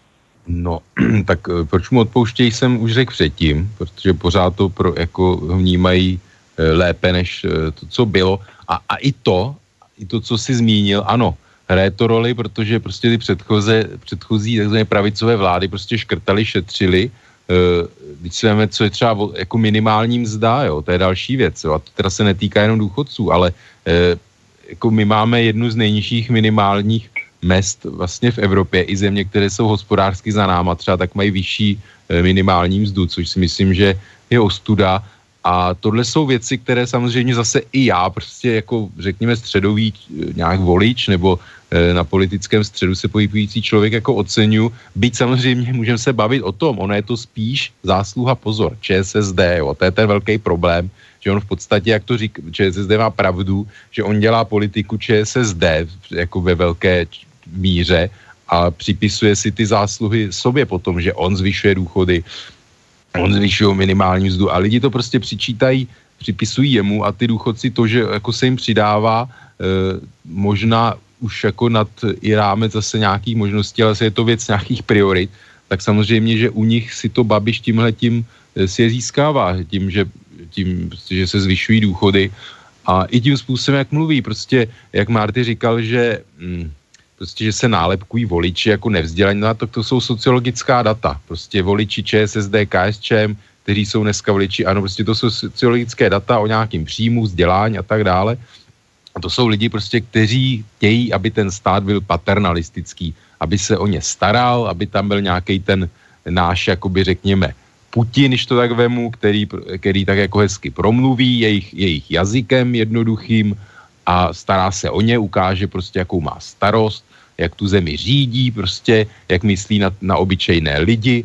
No, tak proč mu odpouštějí, jsem už řekl předtím, protože pořád to jako vnímají lépe než to, co bylo. A i to, co jsi zmínil, ano, hraje to roli, protože prostě ty předchozí takzvané pravicové vlády prostě škrtali, šetřili. Když si veme, co je třeba jako minimální mzda, jo, to je další věc, jo, a to teda se netýká jenom důchodců, ale jako my máme jednu z nejnižších minimálních mezd vlastně v Evropě, i země, které jsou hospodářsky za náma, třeba tak mají vyšší minimální mzdu, což si myslím, že je ostuda. A tohle jsou věci, které samozřejmě zase i já, prostě jako řekněme středový nějak volič nebo na politickém středu se pohybující člověk jako oceňuji. Byť samozřejmě můžeme se bavit o tom, ono je to spíš zásluha, pozor, ČSSD, jo, to je ten velký problém, že on v podstatě, jak to říká, ČSSD má pravdu, že on dělá politiku ČSSD jako ve velké míře a připisuje si ty zásluhy sobě potom, že on zvyšuje důchody, on zvyšuje minimální mzdu a lidi to prostě připisují jemu a ty důchodci to, že jako se jim přidává možná už jako nad i rámec zase nějakých možností, ale je to věc nějakých priorit, tak samozřejmě, že u nich si to Babiš tímhletím si je získává, tím, že se zvyšují důchody a i tím způsobem, jak mluví, prostě, jak Marty říkal, že prostě, že se nálepkují voliči jako nevzdělaní, no, tak to jsou sociologická data. Prostě voliči ČSSD, KSČM, kteří jsou dneska voliči, ano, prostě to jsou sociologické data o nějakým příjmu, vzdělání a tak dále. A to jsou lidi prostě, kteří chtějí, aby ten stát byl paternalistický, aby se o ně staral, aby tam byl nějaký ten náš, jakoby řekněme, Putin, když to tak vemu, který tak jako hezky promluví jejich jazykem jednoduchým a stará se o ně, ukáže prostě, jakou má starost, jak tu zemi řídí, prostě, jak myslí na obyčejné lidi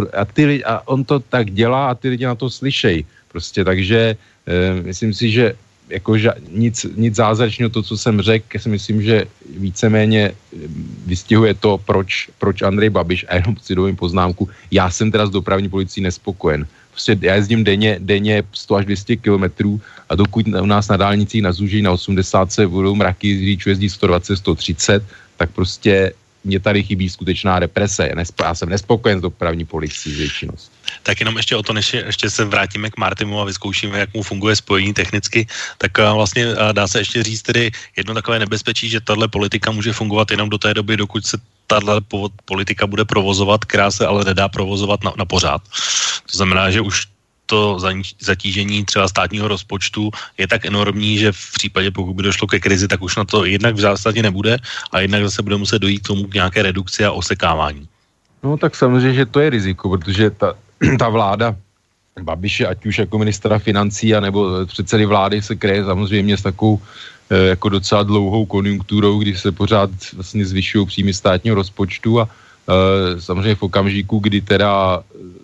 a on to tak dělá a ty lidi na to slyšejí. Prostě, takže myslím si, že jako nic zázračného, to, co jsem řekl, si myslím, že víceméně vystihuje to, proč Andrej Babiš, a jenom si dovím poznámku, já jsem teda s dopravní policií nespokojen. Prostě já jezdím denně 100 až 200 kilometrů a dokud u nás na dálnicích na Zúži na 80 se budou mraky, řidičů jezdí 120, 130, tak prostě mě tady chybí skutečná represe. Já jsem nespokojen s dopravní policií většinou. Tak jenom ještě o to, než ještě se vrátíme k Martimu a vyzkoušíme, jak mu funguje spojení technicky, tak vlastně dá se ještě říct tedy jedno takové nebezpečí, že tahle politika může fungovat jenom do té doby, dokud se tahle politika bude provozovat, která se ale nedá provozovat na pořád. To znamená, že už to zatížení třeba státního rozpočtu je tak enormní, že v případě, pokud by došlo ke krizi, tak už na to jednak v zásadě nebude a jednak zase bude muset dojít k tomu k nějaké redukci a osekávání. No tak samozřejmě, že to je riziko, protože ta vláda Babiše, ať už jako ministra financí, anebo předsedy vlády se kryje samozřejmě s takovou jako docela dlouhou konjunkturou, kdy se pořád vlastně zvyšují příjmy státního rozpočtu a samozřejmě v okamžiku, kdy teda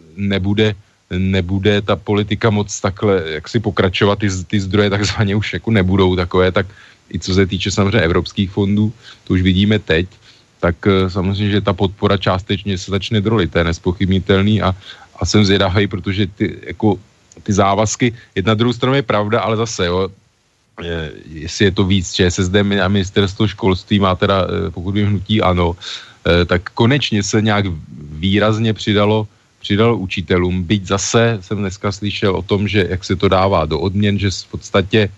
nebude ta politika moc takhle, jak si pokračovat, ty zdroje takzvaně už jako nebudou takové, tak i co se týče samozřejmě evropských fondů, to už vidíme teď, tak samozřejmě, že ta podpora částečně se začne drolit, to je nespochybnitelný a jsem zvědavý, protože ty závazky, jedna druhou stranu je pravda, ale zase, jo, jestli je to víc ČSSD a ministerstvo školství má teda, pokud by hnutí ano, tak konečně se nějak výrazně přidalo učitelům, byť zase jsem dneska slyšel o tom, že jak se to dává do odměn, že v podstatě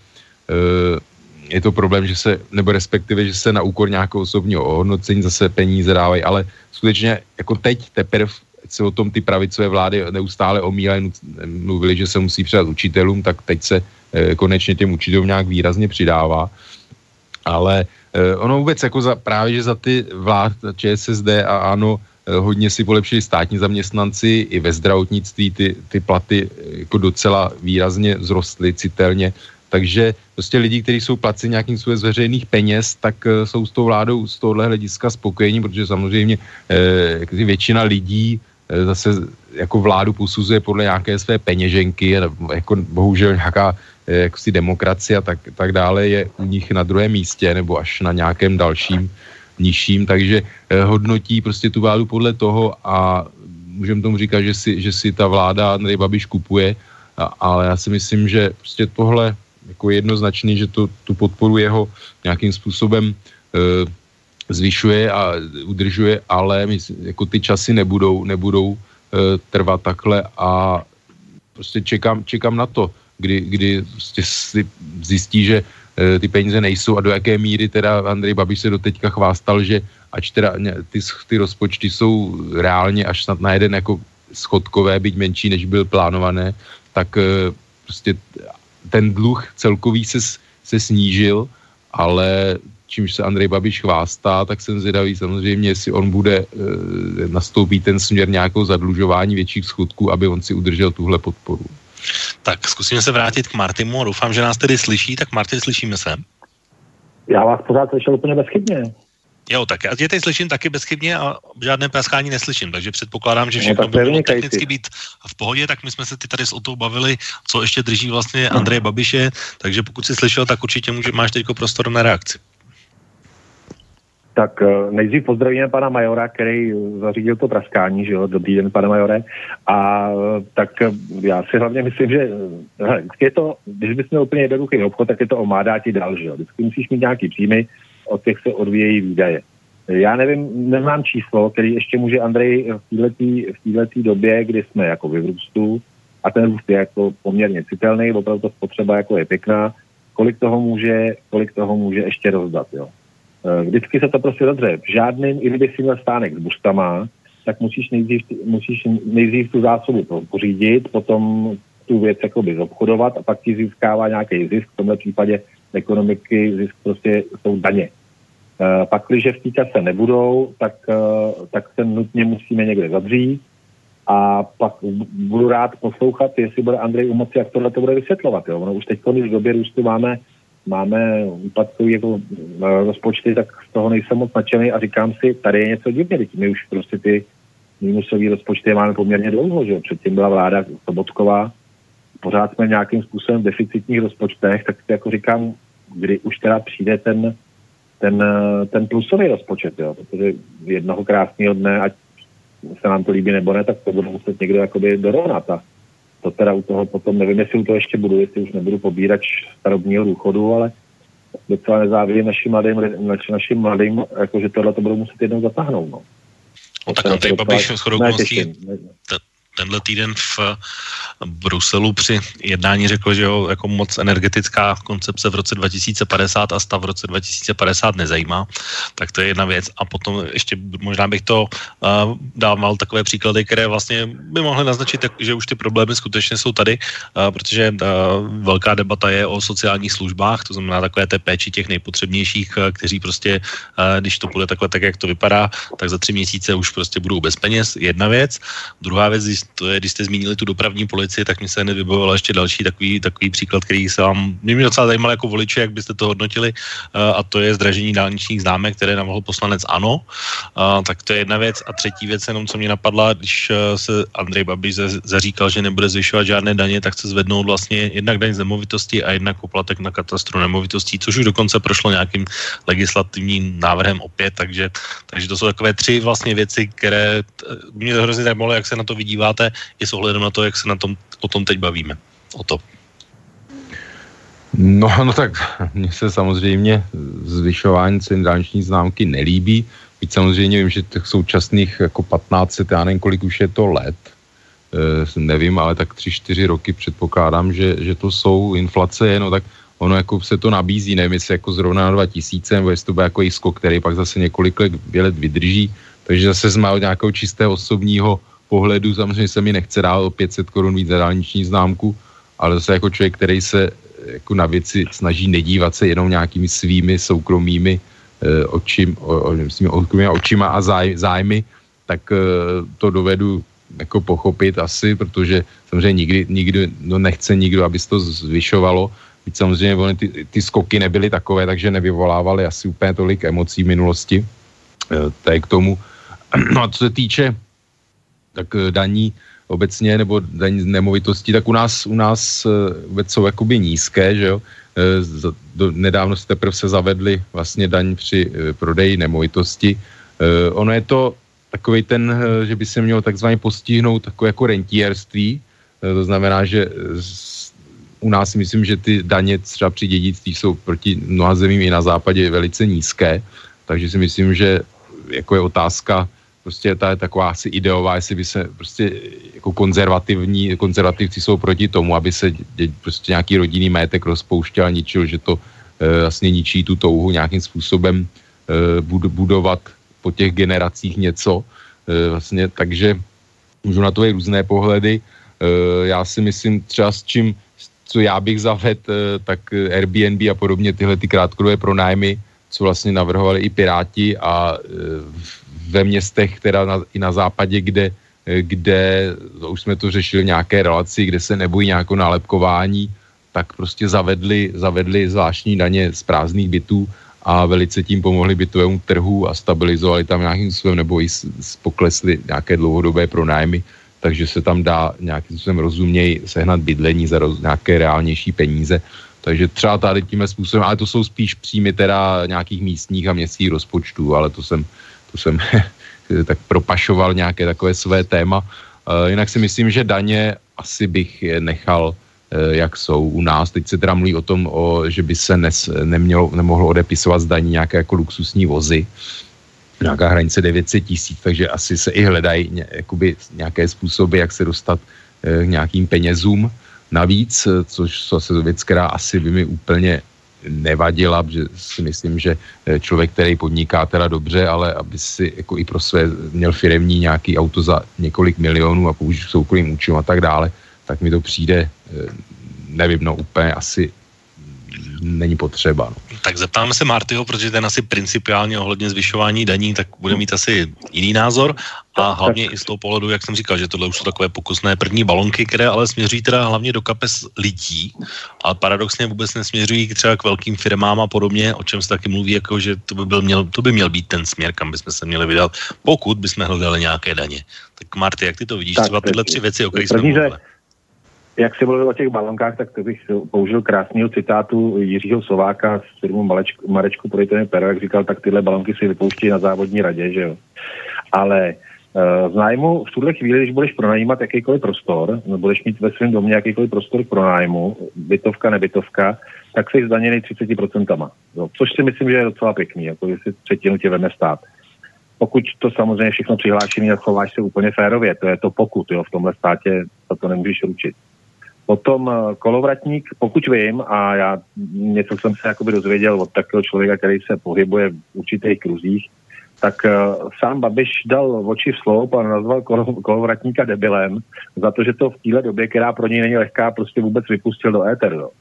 je to problém, že se, nebo respektive, že se na úkor nějakého osobního ohodnocení zase peníze dávají, ale skutečně jako teď teprve se o tom ty pravicové vlády neustále omílají, mluvili, že se musí přidat učitelům, tak teď se konečně těm učitelům nějak výrazně přidává. Ale ono vůbec jako právě, že za ty vlád ČSSD a ANO hodně si polepšili státní zaměstnanci, i ve zdravotnictví ty platy jako docela výrazně vzrostly citelně. Takže prostě lidi, kteří jsou placeni nějakým způsobem z veřejných peněz, tak jsou s tou vládou z tohohle hlediska spokojení, protože samozřejmě většina lidí zase jako vládu posuzuje podle nějaké své peněženky, jako bohužel nějaká jakosi demokracie a tak dále je u nich na druhém místě nebo až na nějakém dalším nižším, takže hodnotí prostě tu vládu podle toho a můžeme tomu říkat, že si ta vláda Andrej Babiš kupuje, ale já si myslím, že prostě tohle jako jednoznačný, že tu podporu jeho nějakým způsobem zvyšuje a udržuje, ale jako ty časy nebudou trvat takhle a prostě čekám na to, kdy prostě si zjistí, že ty peníze nejsou a do jaké míry teda Andrej Babiš se doteďka chvástal, že ač teda ty rozpočty jsou reálně až snad na jeden jako schodkové, byť menší, než byl plánované, tak prostě ten dluh celkový se snížil, ale čímž se Andrej Babiš chvástá, tak jsem zvědavý samozřejmě, jestli on bude nastoupit ten směr nějakého zadlužování větších schodků, aby on si udržel tuhle podporu. Tak zkusíme se vrátit k Martimu a doufám, že nás tedy slyší. Tak Martin, slyšíme se? Já vás pořád slyšel úplně bezchybně. Jo, tak já tě teď slyším taky bezchybně a žádné praskání neslyším, takže předpokládám, že všechno by mělo technicky být v pohodě, tak my jsme se tady s Otou bavili, co ještě drží vlastně Andreje Babiše, takže pokud jsi slyšel, tak určitě máš teďko prostor na reakci. Tak nejdřív pozdravíme pana majora, který zařídil to praskání, že jo, dobrý den, pane majore. A tak já si hlavně myslím, že vždycky je to, když bys měl úplně jednoduchý obchod, tak je to omádá ti dál, že jo. Vždycky musíš mít nějaký příjmy, od těch se odvíjejí výdaje. Já nevím, neznám číslo, který ještě může Andrej v této době, kdy jsme jako v růstu, a ten růst je jako poměrně citelný, opravdu to spotřeba jako je pěkná, kolik toho může ještě rozdat, jo. Vždycky se to prostě dodře. Žádným, i kdyby si měl stánek s buřtama, tak musíš nejdřív tu zásobu pořídit, potom tu věc jakoby zobchodovat a pak ti získává nějaký zisk. V tomhle případě ekonomiky zisk prostě jsou daně. Pak, když v té kase nebudou, tak se nutně musíme někde zavřít a pak budu rád poslouchat, jestli bude Andrej u moci, jak tohle to bude vysvětlovat. Jo? Ono už teď, když v době růstu máme úpadkový jako rozpočty, tak z toho nejsem moc nadšený a říkám si, tady je něco divně, my už prostě ty minusové rozpočty máme poměrně dlouho, že jo? Předtím byla vláda Sobotková, pořád jsme nějakým způsobem v deficitních rozpočtech, tak si jako říkám, kdy už teda přijde ten plusový rozpočet, jo? Protože jednoho krásného dne, ať se nám to líbí nebo ne, tak to bude muset někdo jakoby dorovnat a to teda u toho potom, nevím, jestli u toho ještě budu, jestli už nebudu pobírat starobního důchodu, ale docela nezávidím našim mladým, jakože tohle to budou muset jednou zatáhnout, no. Tak Andrej Babiš shodou okolností tenhle týden v Bruselu při jednání řekl, že ho jako moc energetická koncepce v roce 2050 a stav v roce 2050 nezajímá. Tak to je jedna věc. A potom ještě možná bych to dával takové příklady, které vlastně by mohly naznačit, že už ty problémy skutečně jsou tady, protože velká debata je o sociálních službách, to znamená takové té péči těch nejpotřebnějších, kteří prostě, když to bude takhle tak, jak to vypadá, tak za 3 měsíce už prostě budou bez peněz. Jedna věc. Druhá věc, to je, když jste zmínili tu dopravní policii, tak mi se hned vybojoval ještě další takový příklad, který se vám, mě docela zajímal jako voliče, jak byste to hodnotili, a to je zdražení dálničních známek, které navrhl poslanec ANO. Tak to je jedna věc. A třetí věc, jenom co mě napadla, když se Andrej Babiš zaříkal, že nebude zvyšovat žádné daně, tak chce zvednout vlastně jednak daň z nemovitosti a jednak poplatek na katastru nemovitostí, což už dokonce prošlo nějakým legislativním návrhem opět, takže to jsou takové tři vlastně věci, které mě to hrozně zajímalo, jak se na to vydíváte, i s ohledem na to, jak se o tom teď bavíme. O to. No tak mně se samozřejmě zvyšování cen dálniční známky nelíbí. Byť samozřejmě vím, že těch současných jako 15, já nevím, kolik už je to let, nevím, ale tak 3-4 roky předpokládám, že to jsou inflace, no tak ono jako se to nabízí, nevím, jestli jako zrovna na 2000, nebo jestli to bude jako skok, který pak zase několik let vydrží, takže zase z mého nějakého čistého osobního pohledu samozřejmě se mi nechce dát o 500 korun víc za dálniční známku, ale zase jako člověk, který se jako na věci snaží nedívat se jenom nějakými svými soukromými očima a zájmy, tak to dovedu jako pochopit asi, protože samozřejmě nikdy nechce nikdo, aby se to zvyšovalo. Byť samozřejmě ty skoky nebyly takové, takže nevyvolávaly asi úplně tolik emocí v minulosti. To je k tomu. No a co se týče tak daní obecně, nebo daní z nemovitostí, tak u nás vůbec jsou jakoby nízké, že jo. Nedávno se teprve zavedli vlastně daň při prodeji nemovitosti. Ono je to takový ten, že by se mělo takzvaně postihnout takové jako rentierství. To znamená, že u nás si myslím, že ty daně třeba při dědictví jsou proti mnoha zemím i na západě velice nízké, takže si myslím, že jako je otázka, prostě ta je taková asi ideová, jestli by se prostě jako konzervativci jsou proti tomu, aby se prostě nějaký rodinný majetek rozpouštěl a ničil, že to vlastně ničí tu touhu nějakým způsobem budovat po těch generacích něco. Vlastně, takže můžu na to i různé pohledy. Já si myslím třeba co já bych zavedl, tak Airbnb a podobně tyhle ty krátkodobé pronájmy, co vlastně navrhovali i Piráti a ve městech, teda i na západě, kde už jsme to řešili nějaké relaci, kde se nebojí nějakou nálepkování, tak prostě zavedli zvláštní daně z prázdných bytů a velice tím pomohli bytovému trhu a stabilizovali tam nějakým způsobem, nebo i poklesly nějaké dlouhodobé pronájmy, takže se tam dá nějakým způsobem rozuměj sehnat bydlení za nějaké reálnější peníze. Takže třeba tady tímhle způsobem, ale to jsou spíš příjmy teda nějakých místních a městských rozpočtů, ale to jsem tak propašoval nějaké takové své téma. Jinak si myslím, že daně asi bych nechal, jak jsou u nás. Teď se teda mluví o tom, že by se nemohlo odepisovat z daní nějaké jako luxusní vozy. Nějaká hranice 900 000, takže asi se i hledají nějaké způsoby, jak se dostat k nějakým penězům navíc, což je věc, která asi by mi úplně nevadila, že si myslím, že člověk, který podniká teda dobře, ale aby si jako i pro své měl firemní nějaký auto za několik milionů a použít soukromým účtem a tak dále, tak mi to přijde, nevím, úplně asi není potřeba. No. Tak zeptáme se Martyho, protože ten asi principiálně ohledně zvyšování daní, tak bude mít asi jiný názor a hlavně i z toho pohledu, jak jsem říkal, že tohle už jsou takové pokusné první balonky, které ale směřují teda hlavně do kapes lidí, ale paradoxně vůbec nesměřují třeba k velkým firmám a podobně, o čem se taky mluví, jako že to by měl být ten směr, kam bychom se měli vydat, pokud bychom hledali nějaké daně. Tak Marty, jak ty to vidíš, třeba tyhle tři věci, o kterých jsme mluvili? Jak jsi mluvil o těch balonkách, tak to bych použil krásného citátu Jiřího Sováka z firmu Marečku Projitové pero, jak říkal, tak tyhle balonky si vypouští na závodní radě, že jo. Ale z nájmu v tuhle chvíli, když budeš pronajímat jakýkoliv prostor, budeš mít ve svém domě jakýkoliv prostor k pronájmu, bytovka, nebytovka, tak jsi zdaněný 30%. Jo. Což si myslím, že je docela pěkný, jako jestli třetinu tě veme stát. Pokud to samozřejmě všechno přihlášený a chováš se úplně férově, to je to pokud, jo, v tomhle státě to nemůžeš ručit. Potom kolovratník, pokud vím, a já něco jsem se jakoby dozvěděl od takového člověka, který se pohybuje v určitých kruzích, tak sám Babiš dal oči v sloup a nazval kolovratníka debilem za to, že to v téhle době, která pro něj není lehká, prostě vůbec vypustil do éteru.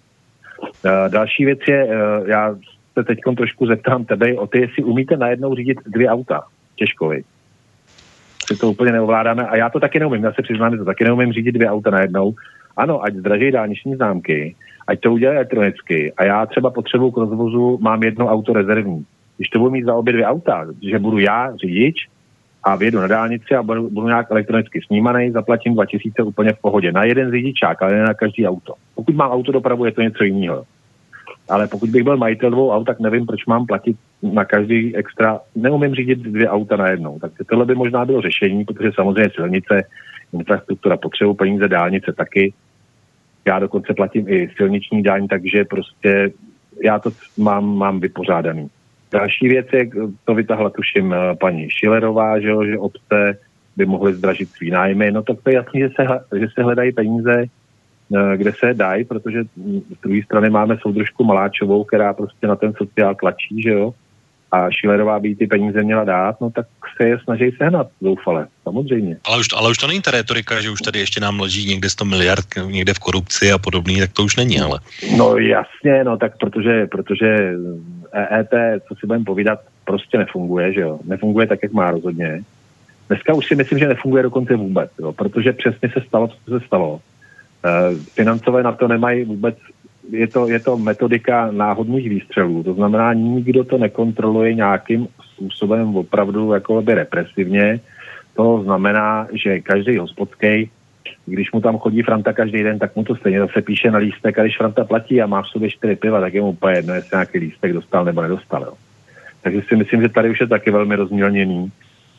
Další věc je, já se teď trošku zeptám tebe o ty, jestli umíte najednou řídit 2 auta. Těžko, viď? asi to úplně neovládáme a já to taky neumím, já se přiznám, že to taky neumím řídit 2 auta najednou. Ano, ať zdraží dálniční známky, ať to udělají elektronicky a já třeba potřebuji k rozvozu, mám 1 auto rezervní. Když to budu mít za obě 2 auta, že budu já řidič a vyjedu na dálnici a budu nějak elektronicky snímaný, zaplatím 2000 úplně v pohodě. Na jeden řidičák, ale ne na každý auto. Pokud mám autodopravu, je to něco jiného. Ale pokud bych byl majitel 2 aut, tak nevím, proč mám platit na každý extra. Neumím řídit 2 auta najednou. Tak tohle by možná bylo řešení, protože samozřejmě silnice, infrastruktura potřebují peníze, dálnice taky. Já dokonce platím i silniční daň, takže prostě já to mám vypořádaný. Další věc je, to vytahla tuším paní Schillerová, že obce by mohly zdražit svý nájmy. No tak to je jasný, že se hledají peníze, kde se dají, protože z druhé strany máme soudružku Maláčovou, která prostě na ten sociál tlačí, že jo, a Schillerová by ty peníze měla dát, no tak se je snaží sehnat zoufale, samozřejmě. Ale už to není ta retorika, že už tady ještě nám leží někde 100 miliard, někde v korupci a podobný, tak to už není, ale. No jasně, no tak protože EET, co si budeme povídat, prostě nefunguje, že jo, nefunguje tak, jak má rozhodně. Dneska už si myslím, že nefunguje dokonce vůbec, jo, protože přesně se stalo, co se stalo. Financové na to nemají vůbec, je to metodika náhodných výstřelů, to znamená, nikdo to nekontroluje nějakým způsobem opravdu jakoby represivně, to znamená, že každý hospodský, když mu tam chodí Franta každý den, tak mu to stejně zase píše na lístek a když Franta platí a má v sobě 4 piva, tak je mu úplně jedno, jestli nějaký lístek dostal nebo nedostal. Jo. Takže si myslím, že tady už je taky velmi rozmělněný.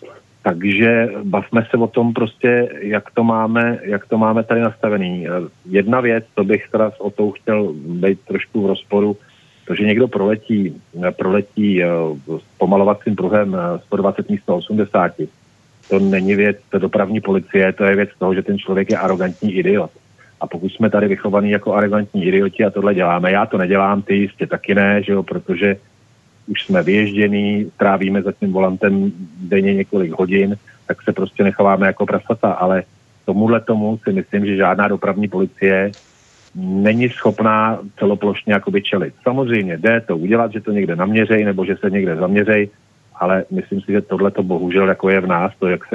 Takže bavme se o tom prostě, jak to máme tady nastavený. Jedna věc, to bych teda o tou chtěl být trošku v rozporu, to, že někdo proletí pomalovacím pruhem 120 místo 80. To není věc dopravní policie, to je věc toho, že ten člověk je arrogantní idiot. A pokud jsme tady vychovaní jako arrogantní idioti a tohle děláme, já to nedělám, ty jistě taky ne, že jo, protože už jsme vyježděný, trávíme za tím volantem denně několik hodin, tak se prostě necháváme jako prasata, ale tomu si myslím, že žádná dopravní policie není schopná celoplošně jakoby čelit. Samozřejmě jde to udělat, že to někde naměřej, nebo že se někde zaměřej, ale myslím si, že tohle to bohužel jako je v nás, to, jak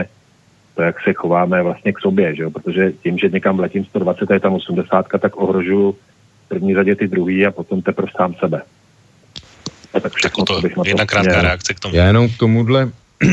se chováme vlastně k sobě, že jo? Protože tím, že někam letím 120 a je tam 80, tak ohrožuju v první řadě ty druhý a potom teprve sám sebe. Tak to jedna krátká reakce k tomu. Já jenom k tomuhle,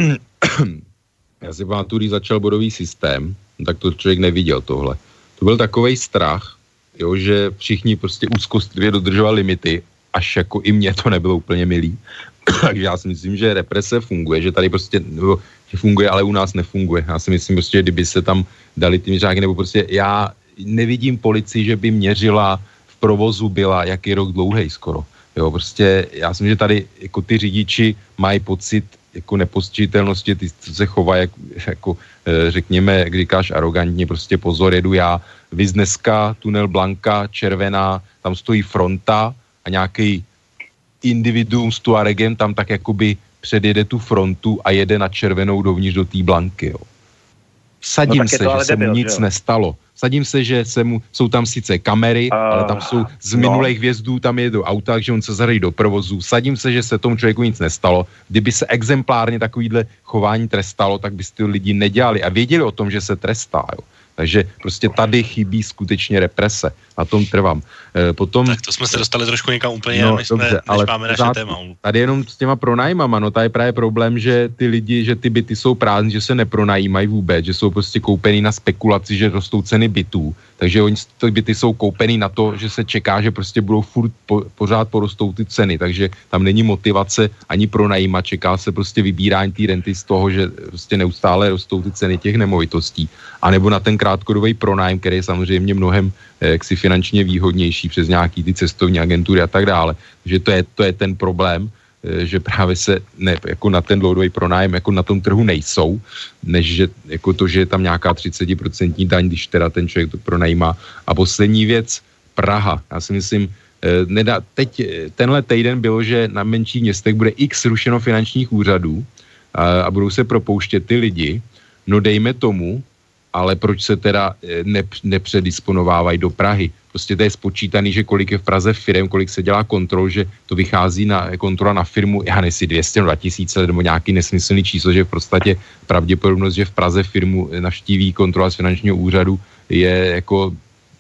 já si pamatuju, když začal bodový systém, tak to člověk neviděl tohle. To byl takovej strach, jo, že všichni prostě úzkostlivě dodržovali limity, až jako i mně to nebylo úplně milý. Takže já si myslím, že represe funguje, že tady prostě, že funguje, ale u nás nefunguje. Já si myslím prostě, že kdyby se tam dali ty měřáky, nebo prostě já nevidím policii, že by měřila v provozu byla jaký rok dlouhej skoro. Jo, prostě já si myslím, že tady jako ty řidiči mají pocit jako nepostižitelnosti, ty se chovají jako řekněme, jak říkáš, arrogantně, prostě pozor, jedu já, viz dneska, tunel Blanka, červená, tam stojí fronta a nějaký individuum s Tuaregem tam tak jakoby předjede tu frontu a jede na červenou dovnitř do té Blanky, jo. Vsadím se, že se mu nic nestalo. Vsadím se, že jsou tam sice kamery, ale tam jsou z minulých vjezdů, tam jedou auta, takže on se zadají do provozu. Vsadím se, že se tomu člověku nic nestalo. Kdyby se exemplárně takovýhle chování trestalo, tak by ty lidi nedělali a věděli o tom, že se trestá, jo. Takže prostě tady chybí skutečně represe. Na tom trvám. Potom, tak to jsme se dostali trošku někam úplně, než máme naše téma. Tady jenom s těma pronájmama, no tady je právě problém, že ty lidi, že ty byty jsou prázdné, že se nepronajímají vůbec, že jsou prostě koupený na spekulaci, že rostou ceny bytů. Takže ty byty jsou koupený na to, že se čeká, že prostě budou pořád porostou ty ceny, takže tam není motivace ani pronajímat, čeká se prostě vybírání té renty z toho, že prostě neustále rostou ty ceny těch nemovitostí. A nebo na ten krátkodobý pronájem, který je samozřejmě mnohem jaksi finančně výhodnější přes nějaký ty cestovní agentury a tak dále. Takže to je ten problém, že právě se jako na ten dlouhodobý pronájem jako na tom trhu nejsou, než že jako to, že je tam nějaká 30% daň, když teda ten člověk to pronajímá. A poslední věc, Praha. Já si myslím, teď tenhle týden bylo, že na menších městech bude x rušeno finančních úřadů a budou se propouštět ty lidi. No dejme tomu, ale proč se teda nepředisponovávají do Prahy? Prostě to je spočítaný, že kolik je v Praze firem, kolik se dělá kontrol, že to vychází na kontrola na firmu, já nejsi 200, 2000 nebo nějaký nesmyslný číslo, že v podstatě pravděpodobnost, že v Praze firmu navštíví kontrola z finančního úřadu je jako,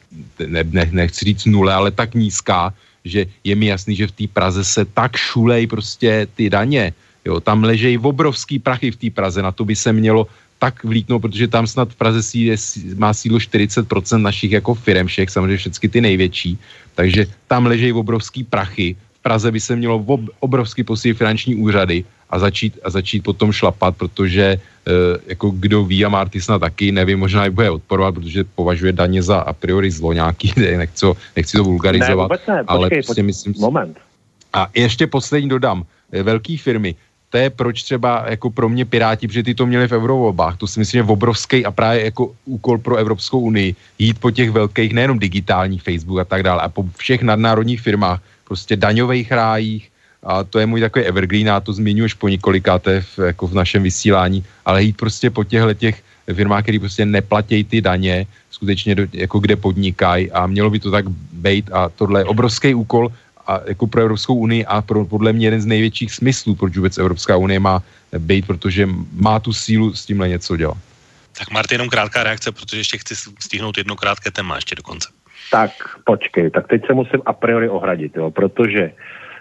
nechci říct nule, ale tak nízká, že je mi jasný, že v té Praze se tak šulej prostě ty daně. Jo, tam ležejí obrovský prachy v té Praze, na to by se mělo tak vlítnout, protože tam snad v Praze má sídlo 40% našich jako firem všech, samozřejmě všechny ty největší, takže tam ležejí obrovský prachy. V Praze by se mělo obrovský posílit finanční úřady a začít potom šlapat, protože jako kdo ví, a Marty snad taky, nevím, možná i bude odporovat, protože považuje daně za a priori zlo nějaký, nechci to vulgarizovat. Ne, vůbec ne, ale počkej, prostě myslím, moment. A ještě poslední dodám, velký firmy, to je proč třeba jako pro mě Piráti, protože ty to měli v eurovolbách, to si myslím, že je obrovský a právě jako úkol pro Evropskou unii jít po těch velkých, nejenom digitálních Facebook a tak dále, a po všech nadnárodních firmách, prostě daňových rájích, a to je můj takový evergreen, a to zmiňuji už po několikáté jako v našem vysílání, ale jít prostě po těch firmách, které prostě neplatí ty daně, skutečně jako kde podnikají, a mělo by to tak být, a tohle je obrovský úkol a jako pro Evropskou unii a podle mě jeden z největších smyslů, proč vůbec Evropská unie má být, protože má tu sílu s tímhle něco dělat. Tak Marty, jenom krátká reakce, protože ještě chci stihnout jedno krátké téma ještě do konce. Tak počkej, tak teď se musím a priori ohradit, jo, protože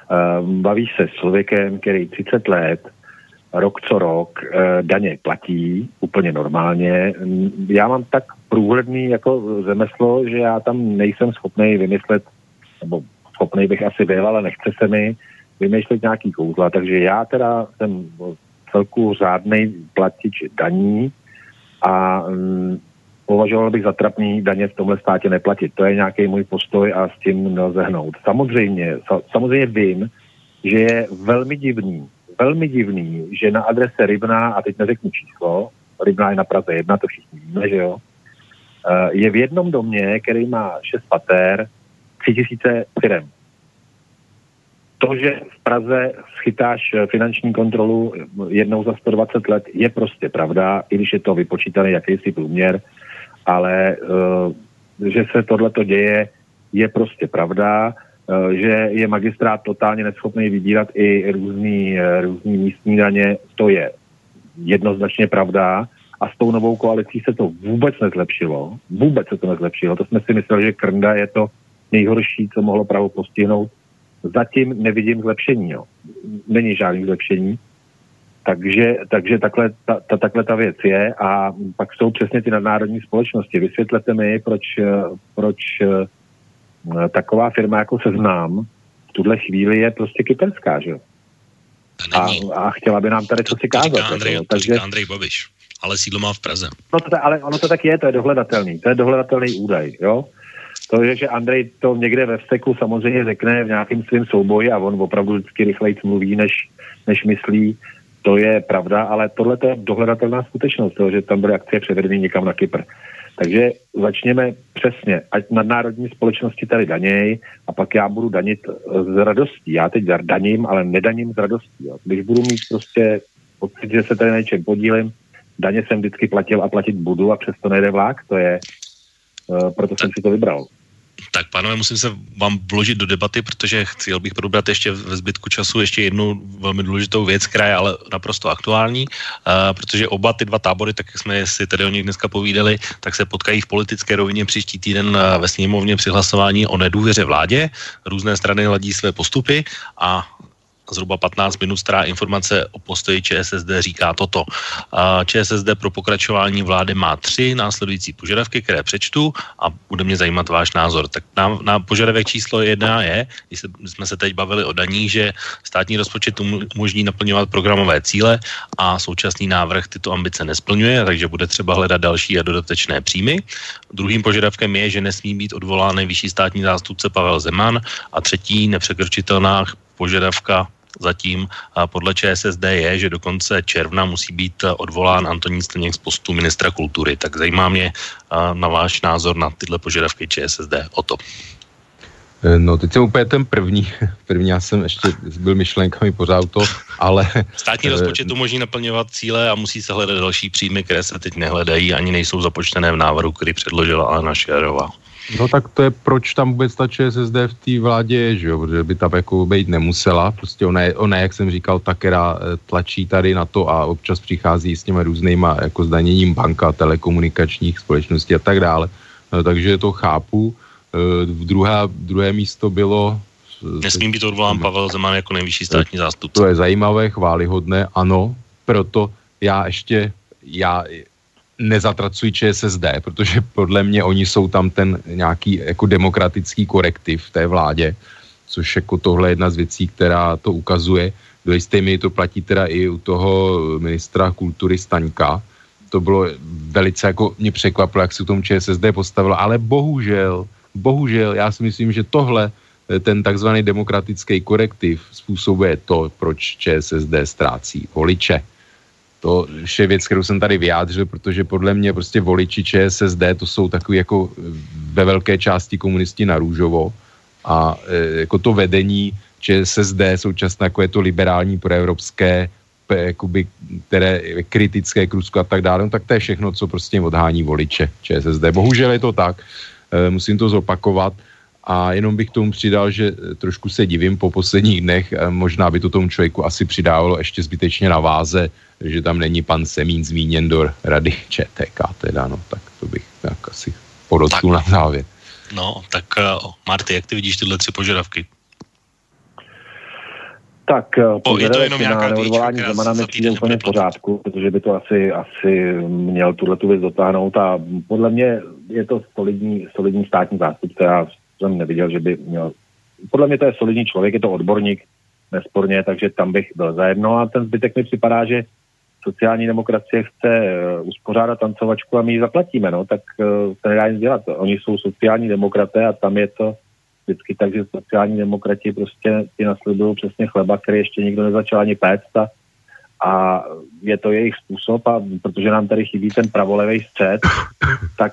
bavíš se s člověkem, který 30 let, rok co rok, daně platí úplně normálně. Já mám tak průhledný jako řemeslo, že já tam nejsem schopný vymyslet, nebo schopný bych asi byl, ale nechce se mi vymýšlet nějaký kouzla, takže já teda jsem celku řádnej platič daní a považoval bych za trapný daně v tomhle státě neplatit. To je nějaký můj postoj a s tím nelze hnout. Samozřejmě vím, že je velmi divný, že na adrese Rybná, a teď neřeknu číslo, Rybná je na Praze 1, to všichni víme, že jo, je v jednom domě, který má 6 pater, 3000 firem. To, že v Praze schytáš finanční kontrolu jednou za 120 let, je prostě pravda, i když je to vypočítaný jakýsi průměr, ale že se tohleto děje, je prostě pravda, že je magistrát totálně neschopný vybírat i různý místní daně, to je jednoznačně pravda, a s tou novou koalicí se to vůbec nezlepšilo. To jsme si mysleli, že Krnda je to nejhorší, co mohlo Prahu postihnout. Zatím nevidím zlepšení, jo. Není žádný zlepšení. Takže takhle ta věc je, a pak jsou přesně ty nadnárodní společnosti. Vysvětlete mi, proč taková firma jako Seznam v tuhle chvíli je prostě kyperská, že jo. A chtěla by nám tady co si kázat. To říká Andrej Babiš, ale sídlo má v Praze. No ale ono to tak je, to je dohledatelný údaj, jo. To je, že Andrej to někde ve vzteku samozřejmě řekne v nějakým svým souboji a on opravdu vždycky rychleji mluví, než myslí. To je pravda, ale tohle je dohledatelná skutečnost, toho, že tam byly akcie převedeny někam na Kypr. Takže začněme přesně, ať nadnárodní společnosti tady daněj, a pak já budu danit z radostí. Já teď daním, ale nedaním z radostí. Jo. Když budu mít prostě pocit, že se tady na něčem podílím, daně jsem vždycky platil a platit budu, a přesto nejde vlák, to je, proto jsem si to vybral. Tak pánové, musím se vám vložit do debaty, protože chtěl bych probrat ještě ve zbytku času ještě jednu velmi důležitou věc, která je ale naprosto aktuální, protože oba ty dva tábory, tak jak jsme si tady o nich dneska povídali, tak se potkají v politické rovině příští týden ve sněmovně při hlasování o nedůvěře vládě. Různé strany ladí své postupy a zhruba 15 minut stará informace o postoji ČSSD říká toto. ČSSD pro pokračování vlády má 3 následující požadavky, které přečtu, a bude mě zajímat váš názor. Tak na požadavek číslo 1 je, když jsme se teď bavili o daních, že státní rozpočet umožní naplňovat programové cíle a současný návrh tyto ambice nesplňuje, takže bude třeba hledat další a dodatečné příjmy. Druhým požadavkem je, že nesmí být odvolán nejvyšší státní zástupce Pavel Zeman, a třetí nepřekročitelná požadavka zatím podle ČSSD je, že do konce června musí být odvolán Antonín Staněk z postu ministra kultury. Tak zajímá mě na váš názor na tyhle požadavky ČSSD o to. No, teď jsem úplně ten první já jsem ještě byl myšlenkami pořád to, ale... Státní rozpočet umožní naplňovat cíle a musí se hledat další příjmy, které se teď nehledají, ani nejsou započtené v návrhu, který předložila Alena Schillerová. No tak to je, proč tam vůbec ta ČSSD v té vládě je, že jo, protože by tam jako být nemusela, prostě ona, jak jsem říkal, ta, která tlačí tady na to a občas přichází s těma různýma jako zdaněním banka, telekomunikačních společností a tak dále, no, takže to chápu. Druhé místo bylo... Nesmí být odvolán Pavel Zeman jako nejvyšší státní zástupce. To je zajímavé, chvályhodné, ano, proto já nezatracuji ČSSD, protože podle mě oni jsou tam ten nějaký jako demokratický korektiv v té vládě, což jako tohle je jedna z věcí, která to ukazuje. Do jisté míry to platí teda i u toho ministra kultury Staňka. To bylo velice jako mě překvapilo, jak se tomu ČSSD postavilo, ale bohužel, já si myslím, že tohle, ten takzvaný demokratický korektiv způsobuje to, proč ČSSD ztrácí voliče. To je věc, kterou jsem tady vyjádřil, protože podle mě prostě voliči ČSSD to jsou takový jako ve velké části komunisti na růžovo a jako to vedení ČSSD současně jako je to liberální proevropské, jakoby, které kritické k Rusku a tak dále, no, tak to je všechno, co prostě odhání voliče ČSSD. Bohužel je to tak, musím to zopakovat. A jenom bych tomu přidal, že trošku se divím po posledních dnech, možná by to tomu člověku asi přidávalo ještě zbytečně na váze, že tam není pan Semín zmíněn do rady ČTK teda, no tak to bych tak asi podotknul na závěr. No, tak Marty, jak ty vidíš tyhle 3 požadavky? Tak je to jenom nějaká odvolání Zemana mi přijde úplně v pořádku, protože by to asi měl tuhletu věc dotáhnout a podle mě je to solidní státní zástupce. Já jsem neviděl, že by měl... Podle mě to je solidní člověk, je to odborník, nesporně, takže tam bych byl zajedno a ten zbytek mi připadá, že sociální demokracie chce uspořádat tancovačku a my ji zaplatíme, no, tak se nedá nic dělat. Oni jsou sociální demokraté a tam je to vždycky tak, že sociální demokrati prostě ti nasledují přesně chleba, který ještě nikdo nezačal ani péct a je to jejich způsob a protože nám tady chybí ten pravolevý střed, tak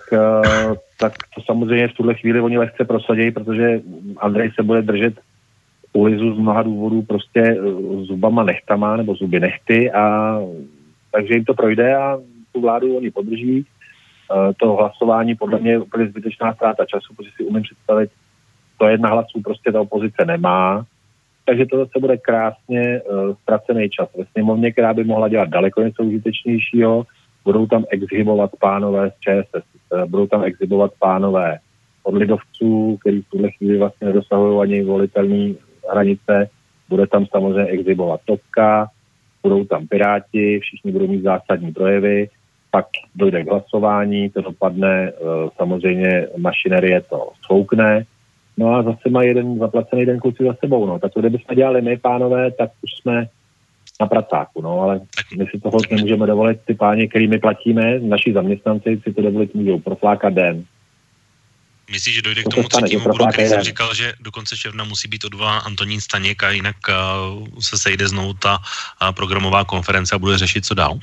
to samozřejmě v tuhle chvíli oni lehce prosadí, protože Andrej se bude držet ulizu z mnoha důvodů prostě zubama nechtama nebo zuby nechty a takže jim to projde a tu vládu oni podrží. To hlasování podle mě je úplně zbytečná ztráta času, protože si umím představit, 101 hlasů prostě ta opozice nemá, takže to zase bude krásně ztracený čas ve sněmovně, která by mohla dělat daleko něco užitečnějšího. Budou tam exhibovat pánové z ČSS, budou tam exhibovat pánové od lidovců, který v tuhle chvíli vlastně nedosahují ani volitelné hranice. Bude tam samozřejmě exhibovat Topka, budou tam Piráti, všichni budou mít zásadní projevy, pak dojde k hlasování, to dopadne, samozřejmě mašinerie to svoukne, no a zase má jeden zaplacený den kluci za sebou, no. Tak to, kdybychom dělali my, pánové, tak už jsme na pracáku, no, ale my si toho nemůžeme dovolit, ty páni, který my platíme, naši zaměstnanci si to dovolit můžou proflákat den. Myslíš, že dojde k tomu třetímu bodu, který jsem říkal, že do konce června musí být odvolán Antonín Staněk a jinak se sejde znovu ta programová konference a bude řešit, co dál?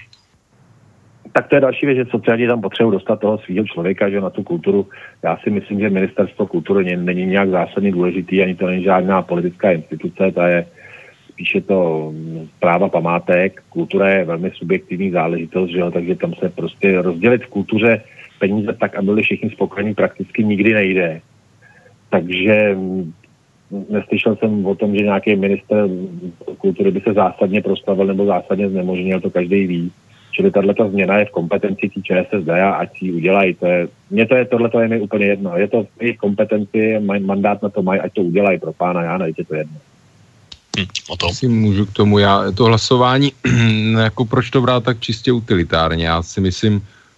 Tak to je další věc, že sociální tam potřebují dostat toho svého člověka, že na tu kulturu. Já si myslím, že ministerstvo kultury není nějak zásadně důležitý, ani to není žádná politická instituce, ta je spíše to správa památek. Kultura je velmi subjektivní záležitost, že jo, takže tam se prostě rozdělit v kultuře peníze tak, aby byli všichni spokojení, prakticky nikdy nejde. Takže neslyšel jsem o tom, že nějaký minister kultury by se zásadně proslavil nebo zásadně znemožnil, to každý ví. Čili tato změna je v kompetenci tí ČSSD a ať si ji udělají. Tohleto je mi úplně jedno. Je to v jejich kompetenci, mandát na to mají, ať to udělají pro pána Jána, je to jedno. O tom. Si můžu k tomu, to hlasování, jako proč to brát tak čistě utilitárně? Já si myslím,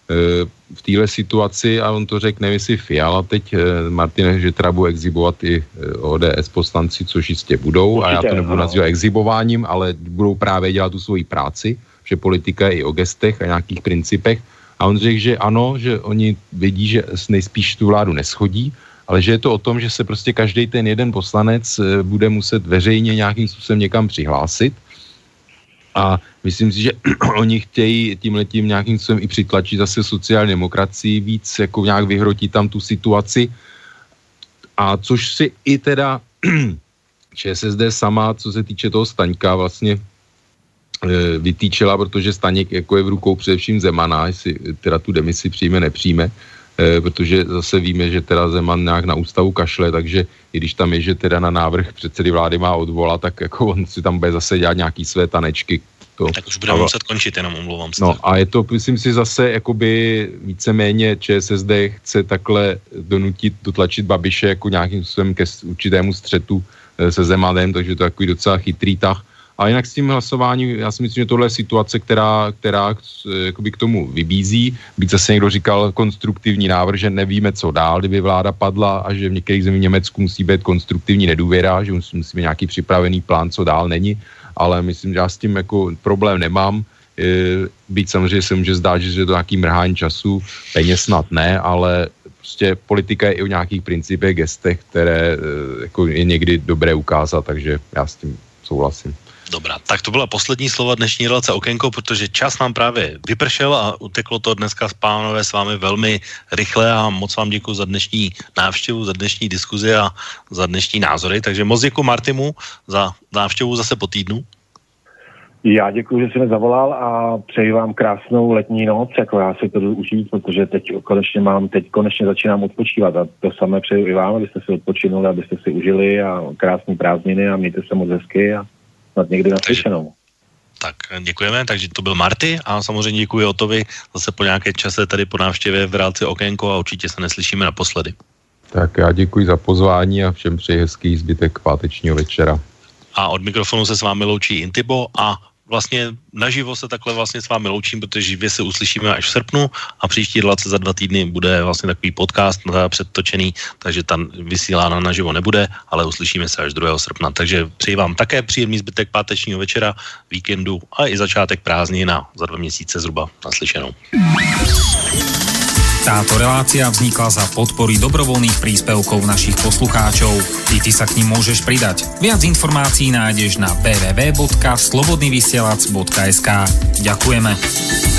v téhle situaci, a on to řekl, nevím, jestli Fiala teď, Martin, že teda budou exhibovat i ODS poslanci, což jistě budou, určitě, a já to nebudu nazývat exhibováním, ale budou právě dělat tu svoji práci, že politika je i o gestech a nějakých principech. A on řekl, že ano, že oni vidí, že nejspíš tu vládu neschodí, ale že je to o tom, že se prostě každý ten jeden poslanec bude muset veřejně nějakým způsobem někam přihlásit. A myslím si, že oni chtějí tímhletím nějakým způsobem i přitlačit zase sociální demokracii víc, jako nějak vyhrotit tam tu situaci. A což si i teda ČSSD sama, co se týče toho Staňka, vlastně vytýčila, protože Staněk jako je v rukou především Zemana, jestli teda tu demisi přijme, nepřijme, protože zase víme, že teda Zeman nějak na ústavu kašle, takže i když tam je, že teda na návrh předsedy vlády má odvolat, tak jako on si tam bude zase dělat nějaký své tanečky. Tak už budeme muset končit, jenom omlouvám se. No a je to, myslím si, zase jakoby víceméně ČSSD chce takhle dotlačit Babiše jako nějakým způsobem ke určitému střetu se Zemanem, takže to je takový docela chytrý tah. A jinak s tím hlasováním, já si myslím, že tohle je situace, která jakoby k tomu vybízí. Byť zase někdo říkal konstruktivní návrh, že nevíme, co dál, kdyby vláda padla a že v některých zemích v Německu musí být konstruktivní nedůvěra, že musí být nějaký připravený plán, co dál není. Ale myslím, že já s tím jako problém nemám. Byť samozřejmě se může zdát, že je to nějaký mrhání času, peněz snad ne, ale prostě politika je i o nějakých principech, gestech, které jako je někdy dobré ukázat, takže já s tím souhlasím. Dobrá, tak to byla poslední slova dnešní relace Okénko, protože čas nám právě vypršel a uteklo to dneska pánové s vámi velmi rychle a moc vám děkuji za dnešní návštěvu, za dnešní diskuzi a za dnešní názory, takže moc děkuji Martimu za návštěvu zase po týdnu. Já děkuji, že jsi mě zavolal a přeji vám krásnou letní noc, jako já si to jdu užít, protože teď konečně začínám odpočívat a to samé přeji i vám, abyste si odpočinuli, abyste si užili a krásné prázdniny a mějte se moc hezky a snad někdy naslyšenou. Tak děkujeme, takže to byl Marty a samozřejmě děkuji Otovi zase po nějaké čase tady po návštěvě v relaci Okénko a určitě se neslyšíme naposledy. Tak já děkuji za pozvání a všem přeji hezký zbytek pátečního večera. A od mikrofonu se s vámi loučí Intibo a vlastně naživo se takhle vlastně s vámi loučím, protože živě se uslyšíme až v srpnu a příští relace za 2 týdny bude vlastně takový podcast předtočený, takže tam vysílána naživo nebude, ale uslyšíme se až 2. srpna. Takže přeji vám také příjemný zbytek pátečního večera, víkendu a i začátek prázdnin a za 2 měsíce zhruba naslyšenou. Táto relácia vznikla za podpory dobrovoľných príspevkov našich poslucháčov. Ty sa k nim môžeš pridať. Viac informácií nájdeš na www.slobodnyvysielac.sk. Ďakujeme.